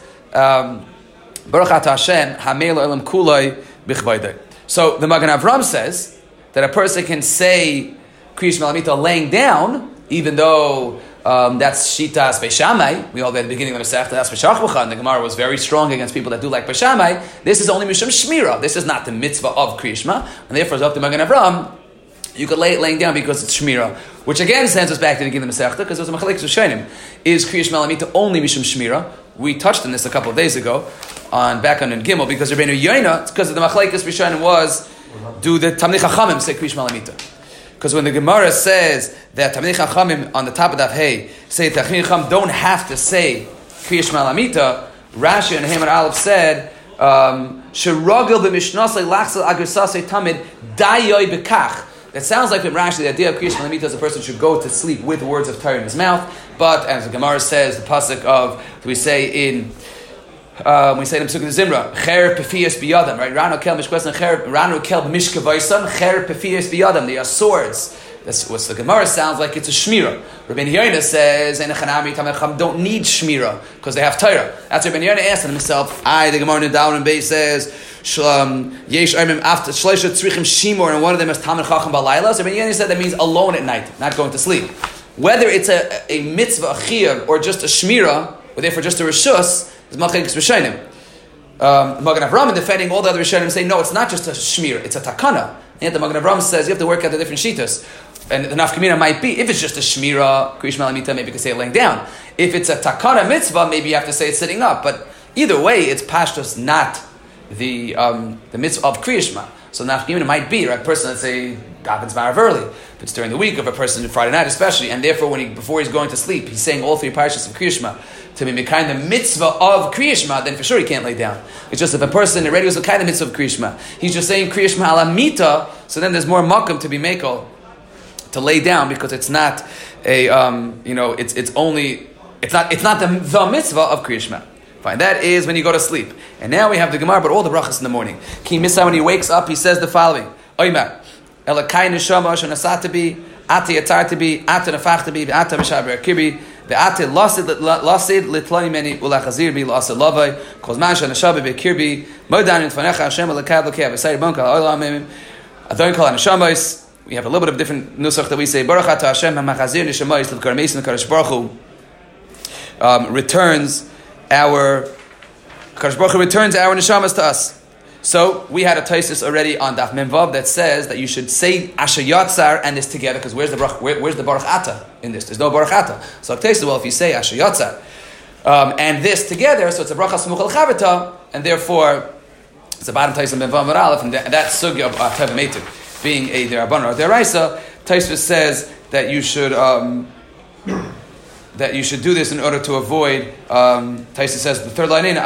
baruch ata Hashem hameil elam kulay b'chvaydei." So the Magen Avram says that a person can say Kriyish Malamita laying down, even though um, that's Shitas Beishamai. We all at the beginning of the Masechta that's B'Shachbucha, and the Gemara was very strong against people that do like Beishamai. This is only Mishum Shmira. This is not the mitzvah of Kriyishma, and therefore, it's up to Magen Avram. You could lay it laying down because it's Shmira, which again sends us back to the beginning of the Masechta, because there's a Machalekes Rishonim. Is Kriyish Malamita only Mishum Shmira? We touched on this a couple of days ago, on back on in Gimel, because Rabbeinu Yoina, it's because of the Machalekes Rishonim was, do the Tamnei Chachamim say Kriyish Malamita? Because when the Gemara says that Tamnei Chachamim on the top of that hey say Tamnei Chacham don't have to say Kriyish Malamita, Rashi and Haman Aleph said Sherogel b'mishnasei lachsel agrisasei tamid dayoy bekach. That sounds like from Rashi, the idea of Kriyish Malamita is a person should go to sleep with words of Torah in his mouth. But as the Gemara says, the pasuk of we say in uh, we say in Pesukah Zimra, Cher Pefias Biyadam, right? Ranu Kel Mishkvesan, Cher Ranu Kel Mishkavaisan, Cher Pefias Biyadam. They are swords. That's what the Gemara sounds like. It's a shmira. Rabbeinu Yoina says, "En Chanami Tamecham don't need shmira because they have Torah." That's what Rabbeinu Yoina asked himself. I, the Gemara in Down and Bay says, "Yesh Aimim after Shleisha Tzrichim Shimor," and one of them is Talmid Chacham Balayla. So Rabbeinu Yoina said that means alone at night, not going to sleep. Whether it's a, a mitzvah, a chiyuv, or just a shmira, or therefore just a reshus, is Machlekes Rishonim. Um, Magen Avram defending all the other Rishonim say no, it's not just a shmira, it's a takana. And yet the Magen Avram says you have to work out the different shitas. And the nafkamina might be, if it's just a shmira, Kriyish Malamita, maybe you can say it laying down. If it's a takana mitzvah, maybe you have to say it sitting up. But either way, it's pashtus, not the um, the mitzvah of Kriyishma. So nafkamina might be, right? A person, let's say, Gavins Marav early. If it's during the week of a person, Friday night especially, and therefore when he before he's going to sleep, he's saying all three parashas of Kriyishma to be kind the mitzvah of Kriyishma, then for sure he can't lay down. It's just if a person already was the kind of mitzvah of Kriyishma, he's just saying Kriyishma alamita, so then there's more makom to be makel, to lay down, because it's not a um, you know it's it's only it's not it's not the, the mitzvah of Kriyishma. Fine, that is when you go to sleep. And now we have the Gemara, but all the brachas in the morning. Ki Misa, when he wakes up, he says the following: Oymar Elakai neshama shenasatabi ati yatartabi ati nafachtabi ati mishaber kibi ve'ati lasid lasid litlani meni ulachazir bi lasid lavai kozman shenashabi bekirbi modan in tfanecha Hashem elakad lokei v'sayir bonka olamim adon kol neshamas. We have a little bit of different nusach that we say Baruch Ata Hashem HaMachazir Neshamayis L'Karmeis L'Kadosh Baruch Hu um, returns our Kadosh Baruch Hu returns our neshamas to us. So we had a taisis already on Daf Memvav that says that you should say Asher Yatzar and this together, because where's the Baruch, where, where's the Baruch Ata in this? There's no Baruch Ata. So a taisis, well, if you say Asher Yatzar um, and this together, so it's a bracha smuch al chavita, and therefore it's a bottom taisis in Memvav Aleph, and that, that sugya of Tev Meitiv being a derabbanan or deraisa, Taisvis says that you should um, that you should do this in order to avoid. Um, Taisvis says the third line in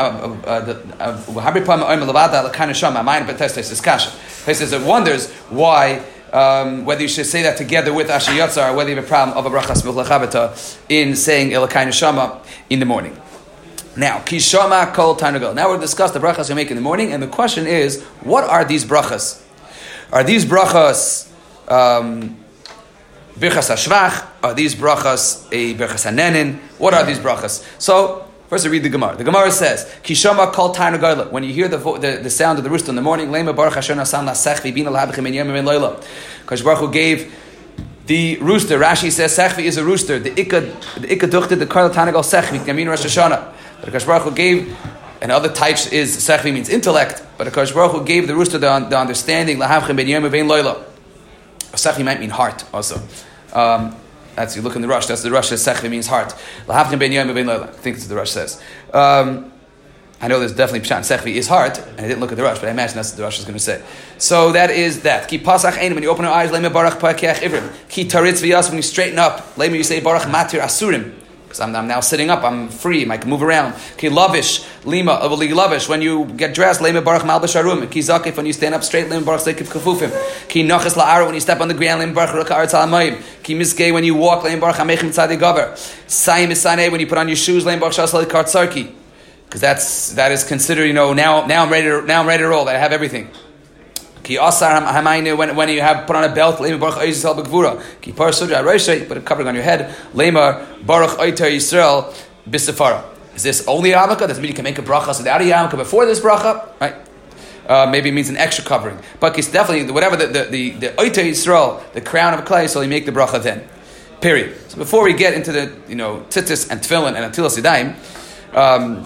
Taisvis says it wonders why um, whether you should say that together with Asher Yatzar, or whether you have a problem of a bracha smuch l'chavita in saying Elokai Neshama in the morning. Now, kishama kol tarnagol. Now we'll discuss the brachas you make in the morning, and the question is, what are these brachas? Are these brachas um, birchas hashvach? Are these brachas a birchas hanenin? What are these brachas? So, first we read the Gemara. The Gemara says, Kishama kol tarnagol. When you hear the, vo- the the sound of the rooster in the morning, Lema baruch Hashem nasan lasech v'bina lahabichem en yomim en loyla. Because Baruch Hu gave the rooster. Rashi says sechvi is a rooster. The ikka the ikka duchte the kol tarnagol sechvi yamin Rosh Hashanah. But Akash Baruch Hu gave. And other types is sechvi means intellect, but Akash Baruch Hu gave the rooster the, the understanding lahavchem ben yom ben loyla. Sechvi might mean heart also. Um, that's you look in the Rush. That's the Rush says sechvi means heart. Lahavchem ben yom ben loyla. I think it's the Rush says. Um, I know there's definitely Pshat Sechvi is hard, and I didn't look at the Rush, but I imagine that's what the Rush is going to say. So that is that. Ki pasach ein, when you open your eyes, Lema Baruch Pakeach Ivrim. Ki taritz v'yas, when you straighten up, Lema you say Baruch Matir Asurim. Because I'm, I'm now sitting up, I'm free, I can move around. Ki lavish, Lima, Avali lavish, when you get dressed, Lema Baruch Malbish Arum. Ki zakif, when you stand up straight, Lema Baruch Zekif Kafufim. Ki nachas la'ara, when you step on the ground, Lema Baruch Ruka Arz Ha'amayim. Ki miskei, when you walk, Lema Baruch Hamechim Tzadei Gaver. Sayim Isanei, when you put on your shoes, Lema Baruch Shasali Kartzarki. Because that's that is considered, you know, now now I'm ready to now I'm ready to roll. That I have everything. Ki asar hamayne, when when you have put on a belt, Lemar Baruch Yisrael b'gvura. Ki par sudra reisha, put a covering on your head. Lemar Baruch Oiter Yisrael b'sefara. Is this only a yarmulke? Does it mean you can make a bracha without a yarmulke before this bracha? Right? Uh, maybe it means an extra covering. But it's definitely whatever the the the, the Oiter Yisrael, the crown of clay, so you make the bracha then. Period. So before we get into the you know tzitzis and tefillin and atilas yadayim. Um,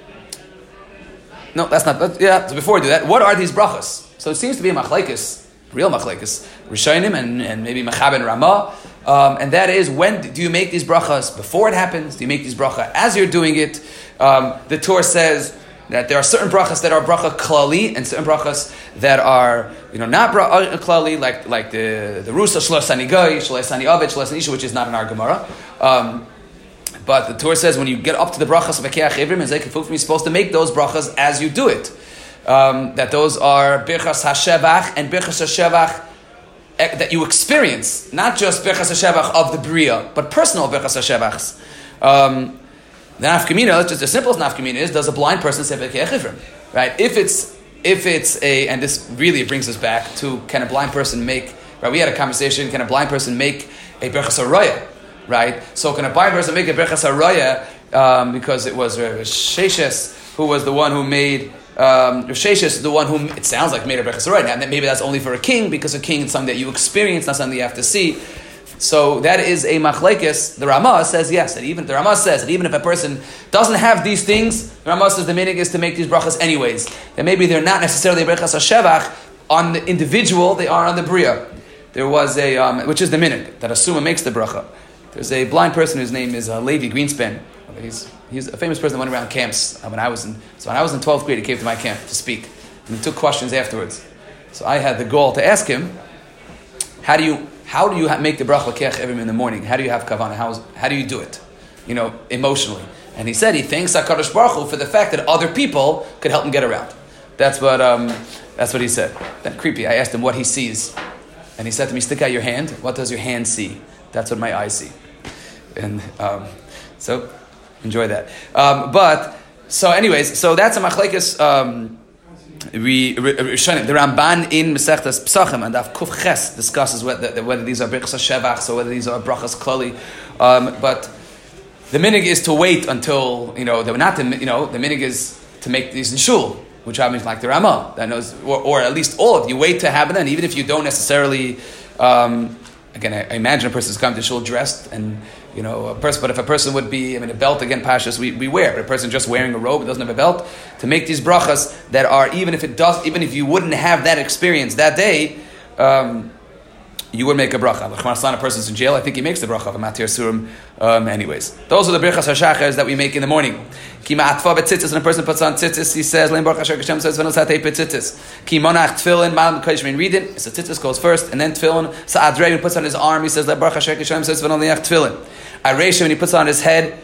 No, that's not. That, yeah. So before we do that, what are these brachas? So it seems to be a machlekes, real machlekes, Rishonim and, and maybe Machab and Ramah, um, and that is when do you make these brachas before it happens? Do you make these bracha as you're doing it? Um, the Torah says that there are certain brachas that are bracha klali and certain brachas that are you know not bracha klali, like like the the rusa shlosani goy, shlosani avet, shlosani isha, which is not in our Gemara. Um, But the Torah says when you get up to the brachas of Akeach Ivrim and Zekef Ufim, you're supposed to make those brachas as you do it. Um, that those are Birchas HaShevach and Birchas HaShevach that you experience, not just Birchas HaShevach of the Bria, but personal Birchas HaShevachs. Um, the nafkamina, just the simplest nafkamina is, does a blind person say Akeach Ivrim? Right? If it's if it's a, and this really brings us back to, can a blind person make, right? We had a conversation, can a blind person make a Birchas HaRaya? Right, so can a blind person make a Birchas HaRaya um, because it was Rav Sheshes who was the one who made um, Rav Sheshes the one who it sounds like made a Birchas HaRaya. Now maybe that's only for a king because a king is something that you experience, not something you have to see. So that is a machlekes. The Ramah says yes. That even the Ramah says that even if a person doesn't have these things, the Ramah says the minig is to make these brachas anyways. That maybe they're not necessarily Birchas HaShevach on the individual; they are on the bria. There was a um, which is the minig that a summa makes the bracha. There's a blind person whose name is uh, Levi Greenspan. He's he's a famous person that went around camps. Uh, when I was in so when I was in twelfth grade, he came to my camp to speak, and he took questions afterwards. So I had the goal to ask him, how do you how do you ha- make the bracha Akeach Ivrim in the morning? How do you have kavanah? How how do you do it? You know, emotionally. And he said he thanks HaKadosh Baruch Hu for the fact that other people could help him get around. That's what um, that's what he said. Then creepy. I asked him what he sees, and he said to me, "Stick out your hand. What does your hand see?" That's what my eyes see. And um, so, enjoy that. Um, but, so anyways, so that's a machlekes, um, we, the Ramban in Masechtas Pesachim and Daf Kuf Ches discusses whether, whether these are Birchas HaShevach or whether these are Brachas Klali. Um, but the minig is to wait until, you know, the, not the, you know, the minig is to make these in shul, which happens like the Ramah, that knows, or, or at least all of you wait to have it then, even if you don't necessarily, um, again, I, I imagine a person is coming to shul dressed, and you know, a person. But if a person would be, I mean, a belt again, pashas we, we wear. But a person just wearing a robe, doesn't have a belt, to make these brachas that are even if it does, even if you wouldn't have that experience that day, um, you would make a bracha. L'chmar a person's in jail, I think he makes the bracha of a matir surim. Um, anyways, those are the brachas hashachas that we make in the morning. Ki ma'atfa betzitzis, and a person puts on tzitzis, he says, "Lein baruch Hashem Hashem says v'nos hatei betzitzis." Ki monach tefillin, ma'am k'yishmein read it. So tzitzis goes first, and then tefillin. Sa'adrei, when he puts on his arm, he says, "Lein baruch Hashem Hashem says v'nos liach tefillin." Aresha, when he puts on his head,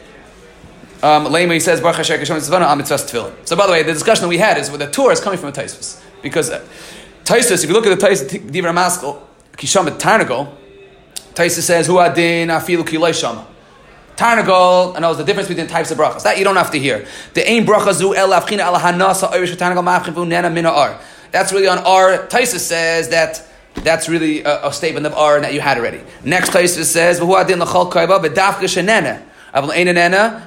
um, Leima, he says, "Baruch Hashem Hashem says v'nos amitzvas tefillin." So by the way, the discussion that we had is with the Torah is coming from a Taisvus, because uh, Taisvus, if you look at the Taisvus, Divra Maskal, Kisham Tarnagol, Taisvus says, "Hu adin afilu kilay shama." Tarnagol, and knows the difference between types of brachas. That you don't have to hear. The ain bracha zu el avchina ala hanasa oirish tarnagol ma'avchin vu nena mina ar. That's really on ar. Taisvus says that that's really a, a statement of ar that you had already. Next Taisvus says, "V'hu adin l'chol kaiva v'dafka shenena." You don't make the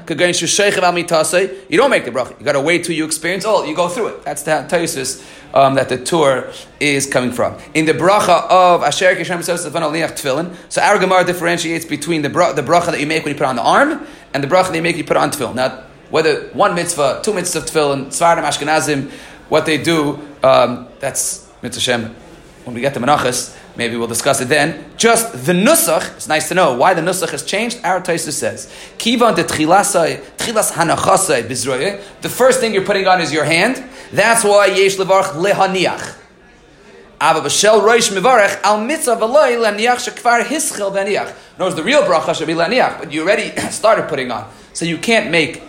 bracha. You got to wait till you experience all. You go through it. That's the Taisvus um, that the Torah is coming from. In the bracha of Asher Kishem says tefillin. So our Gemara differentiates between the bra- the bracha that you make when you put on the arm and the bracha that you make when you put on tefillin. Now, whether one mitzvah, two mitzvahs of tefillin, Sfardim, Ashkenazim, what they do, um, that's mitzvah Shem. When we get to Menachos, Maybe we'll discuss it then. Just the nusach, it's nice to know why the nusach has changed. Our Taisa says, Kivan de tchilasai, tchilas hanachasai bizroye. The first thing you're putting on is your hand. That's why yesh levarch lehaniach. Ava b'shel roish mivarech al mitzvah v'loi laniach shekvar hischel v'aniach. Notice the real bracha should be laniach, but you already started putting on. So you can't make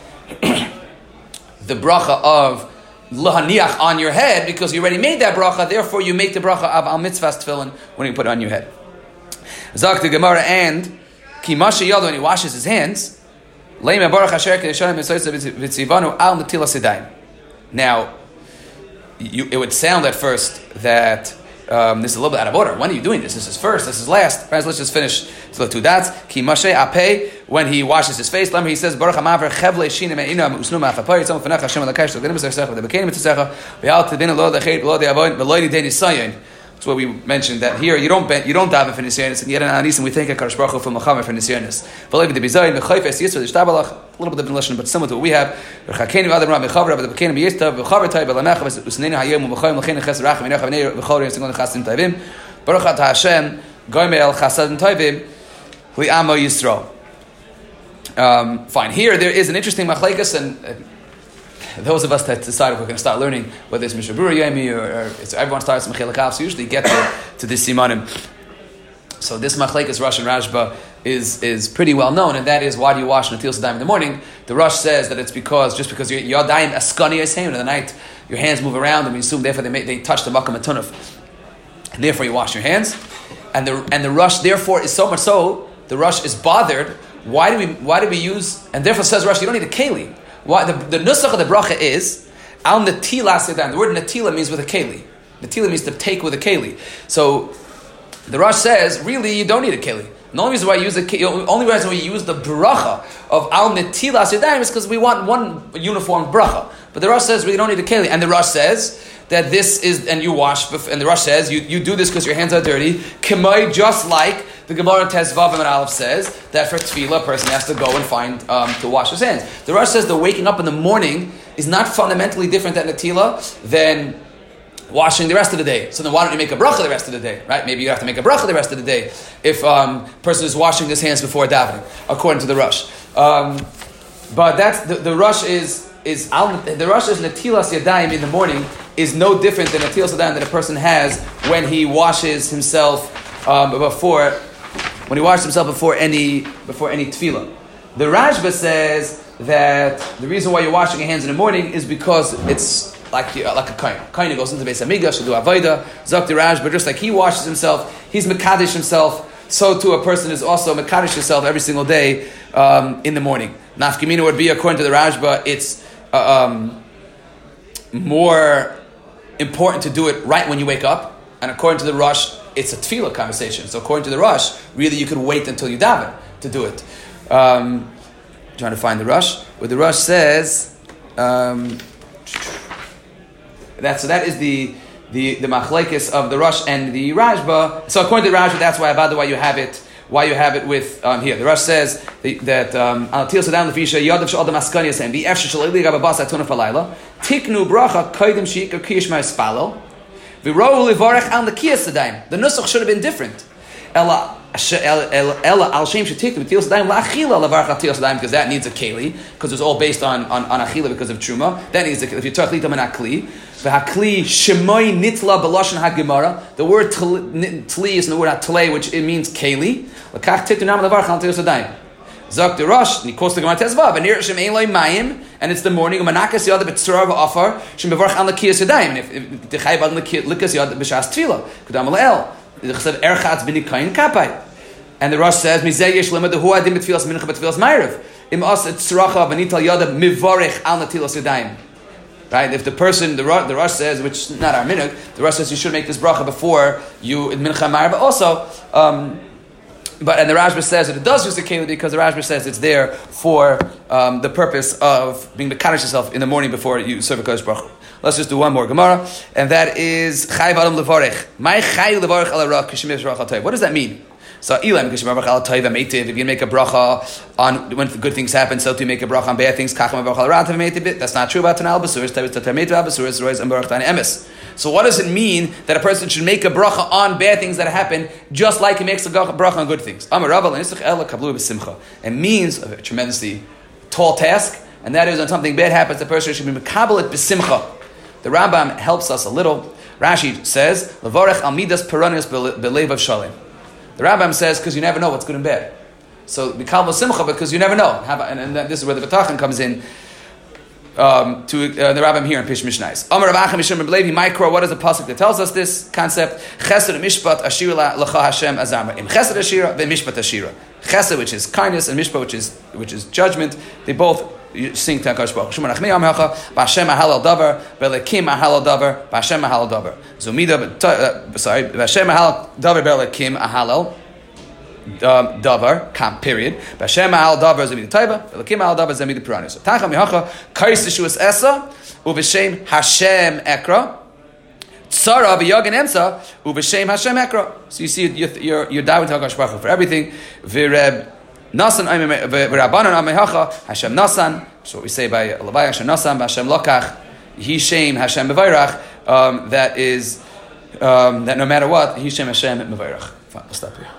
the bracha of lahaniach on your head because you already made that bracha. Therefore, you make the bracha of al mitzvah's tefillin when you put it on your head. Zak the Gemara and ki masha yado, when he washes his hands, leima baruch asher kedeshanim mitzvah v'tzivanu al netilas yadayim. Now, you, it would sound at first that um, this is a little bit out of order. When are you doing this? This is first. This is last. Right, let's just finish. So the two dots. Ki mashe apeh, when he washes his face. He says, Baruch hamaver chevle shinem eina usnu ma'afapay. Tzom fenach Hashem alakash. So g'nim b'sarsecha v'debekenim b'tzecha v'yal tedin lo dachet v'lo de'avoin v'lo yidei nisayon. That's what we mentioned, that here you don't you don't daven for nisyonis, and yet in Anisim we thank HaKadosh Baruch Hu for Mechamer for nisyonis. V'lo yidei b'zayin v'chayfes yisra d'shtabalach. A little bit of different lesson, but similar to what we have. V'chakenim v'adam ra v'chavra v'debekenim b'yistav v'chaver tay v'lamecha v'usneinu hayom v'chayim l'chein ches rachim v'necha v'nei v'chori v'singon chasim tayvim. Baruch atah Hashem goyme el chasadim tayvim li'amo Yisrael. Um, fine. Here there is an interesting machlekes, and uh, those of us that decide if we're going to start learning whether it's Mishnah Berurah Yomi or, or it's, everyone starts Mechilek Av, so usually get to, to this simanim. So this machlekes Rosh and Rashba is is pretty well known, and that is, why do you wash Netilas Yadayim in the morning? The Rosh says that it's because just because your Yadayim askani yisheim in the night, your hands move around, and we assume therefore they may, they touch the makam atunaf, and therefore you wash your hands. And the and the Rosh therefore is so much so the Rosh is bothered. Why do we why do we use? And therefore says Rosh, you don't need a keli. Why the the nusach of the bracha is al netilas yadayim. The word netila means with a keli. Netila means to take with a keli. So the Rosh says, really, you don't need a keli. The only reason why you use the only reason why you use the bracha of al netilas yadayim is because we want one uniform bracha. But the Rosh says, we don't need a keli. And the Rosh says that this is, and you wash, and the Rosh says, you, you do this because your hands are dirty. K'may, just like the Gemara Tezvav and Aleph says, that for tefillah, a person has to go and find, um, to wash his hands. The Rosh says the waking up in the morning is not fundamentally different than Netila than washing the rest of the day. So then why don't you make a bracha the rest of the day, right? Maybe you have to make a bracha the rest of the day if um, a person is washing his hands before davening, according to the Rosh. Um, but that's, the, the Rosh is, is the Rosh is Netilas Yadayim in the morning is no different than Netilas Yadayim that a person has when he washes himself um, before, when he washes himself before any, before any tefillah. The Rashba says that the reason why you're washing your hands in the morning is because it's like like a kain. Kain goes into Beis Hamikdash to do avodah. Zok the Rashba, just like he washes himself, he's mekadesh himself. So too a person is also mekadesh himself every single day um, in the morning. Nafkamina would be, according to the Rashba, it's uh, um, more important to do it right when you wake up, and according to the Rosh, it's a tefillah conversation. So according to the Rosh, really you could wait until you daven to do it. Um, trying to find the Rosh, where the Rosh says. Um, That, so that is the the the machlekes of the Rosh and the Rashba. So according to the Rashba, that's why about why you have it why you have it with um, here. The Rosh says that al til sadan lefisha yadav shal adam askani yasem bi efsh shel eli gabas atuna falayla tiknu bracha kaidem shik kish ma spalo v'ro levarech al nekiyas sadaim. The nusach should have been different. Ella Ella al shem shetiknu til sadan la'achila levarech al til sadan, because that needs a keli, because it's all based on on, on achila because of truma. That needs a keli. If you talk litam and akli. V'hakli shemoi nitla b'lashon hagemara. The word tli is in the word hatlei, which it means keli. L'kach titu nam levar chal tios adayim. Zok the Rosh, nikos the Gemara Tezvav, and nirshim ein loy mayim, and it's the morning. Umanakas yada b'tzora v'afar shem bevarch al l'kiyas adayim. And if the chayv ad l'kiyas yada b'shas tefila, kudam le'el. The chesed erchatz b'nikayin kapai. And the Rosh says mizeh yesh lemad hu adim b'tfilas mincha b'tfilas ma'ariv. Im as et tzracha v'nital yada mivarech al natilas adayim. Right? If the person, the Rosh, the Rosh says, which is not our minhag, the Rosh says you should make this bracha before you in mincha ma'ariv, but also, um, but and the Rashba says that it does use the keli because the Rashba says it's there for um, the purpose of being mekadosh yourself in the morning before you serve a kodesh baruch. Let's just do one more Gemara, and that is chayv adam levarech. My chayv levarech ala ra kishim yisrach atayv. What does that mean? So Elam, if you make a bracha on when good things happen, so to make a bracha on bad things. That's not true about Tanal Basuris. So what does it mean that a person should make a bracha on bad things that happen, just like he makes a bracha on good things? It means a tremendously tall task, and that is when something bad happens, the person should be mekabel it b'simcha. The Rambam helps us a little. Rashi says, "Levarech al midas peranis belev of shalim." The Rambam says, because you never know what's good and bad. So mekabel simcha because you never know. And, and this is where the B'tachan comes in. Um, to uh, the Rambam here in Pish Mishnais. Amar Rav Acha Mishum B'Levi Micro. What is the pasuk that tells us this concept? Chesed mishpat ashira lacha Hashem azama. Im chesed ashira ve'mishpat ashira. Chesed, which is kindness, and mishpat, which is which is judgment. They both sing to Hakadosh Baruch Hu. Shemar Achmi Amhacha B'Hashem Ahalal Davar B'Elekim Ahalal Davar B'Hashem Ahalal Davar. Zumida. Sorry, B'Hashem Ahalal Davar B'Elekim Ahalal. Um, davar, kam, period. B'Hashem al davar zemid taiva, B'Elekim al davar zemid puranis. Tacha mihacha kais yeshuas esa u'v'shem Hashem ekra tzara v'yagin emsa u'v'shem Hashem ekra. So you see, you're you're, you're diving to Hakadosh Baruch Hu for everything. V'reb nasan v'rabanan amehacha Hashem nasan. So what we say by Levi Hashem nasan Hashem lokach Hishem Hashem bevayrach. Um, that is um, that no matter what Hishem Hashem bevayrach. Fine, we'll stop here.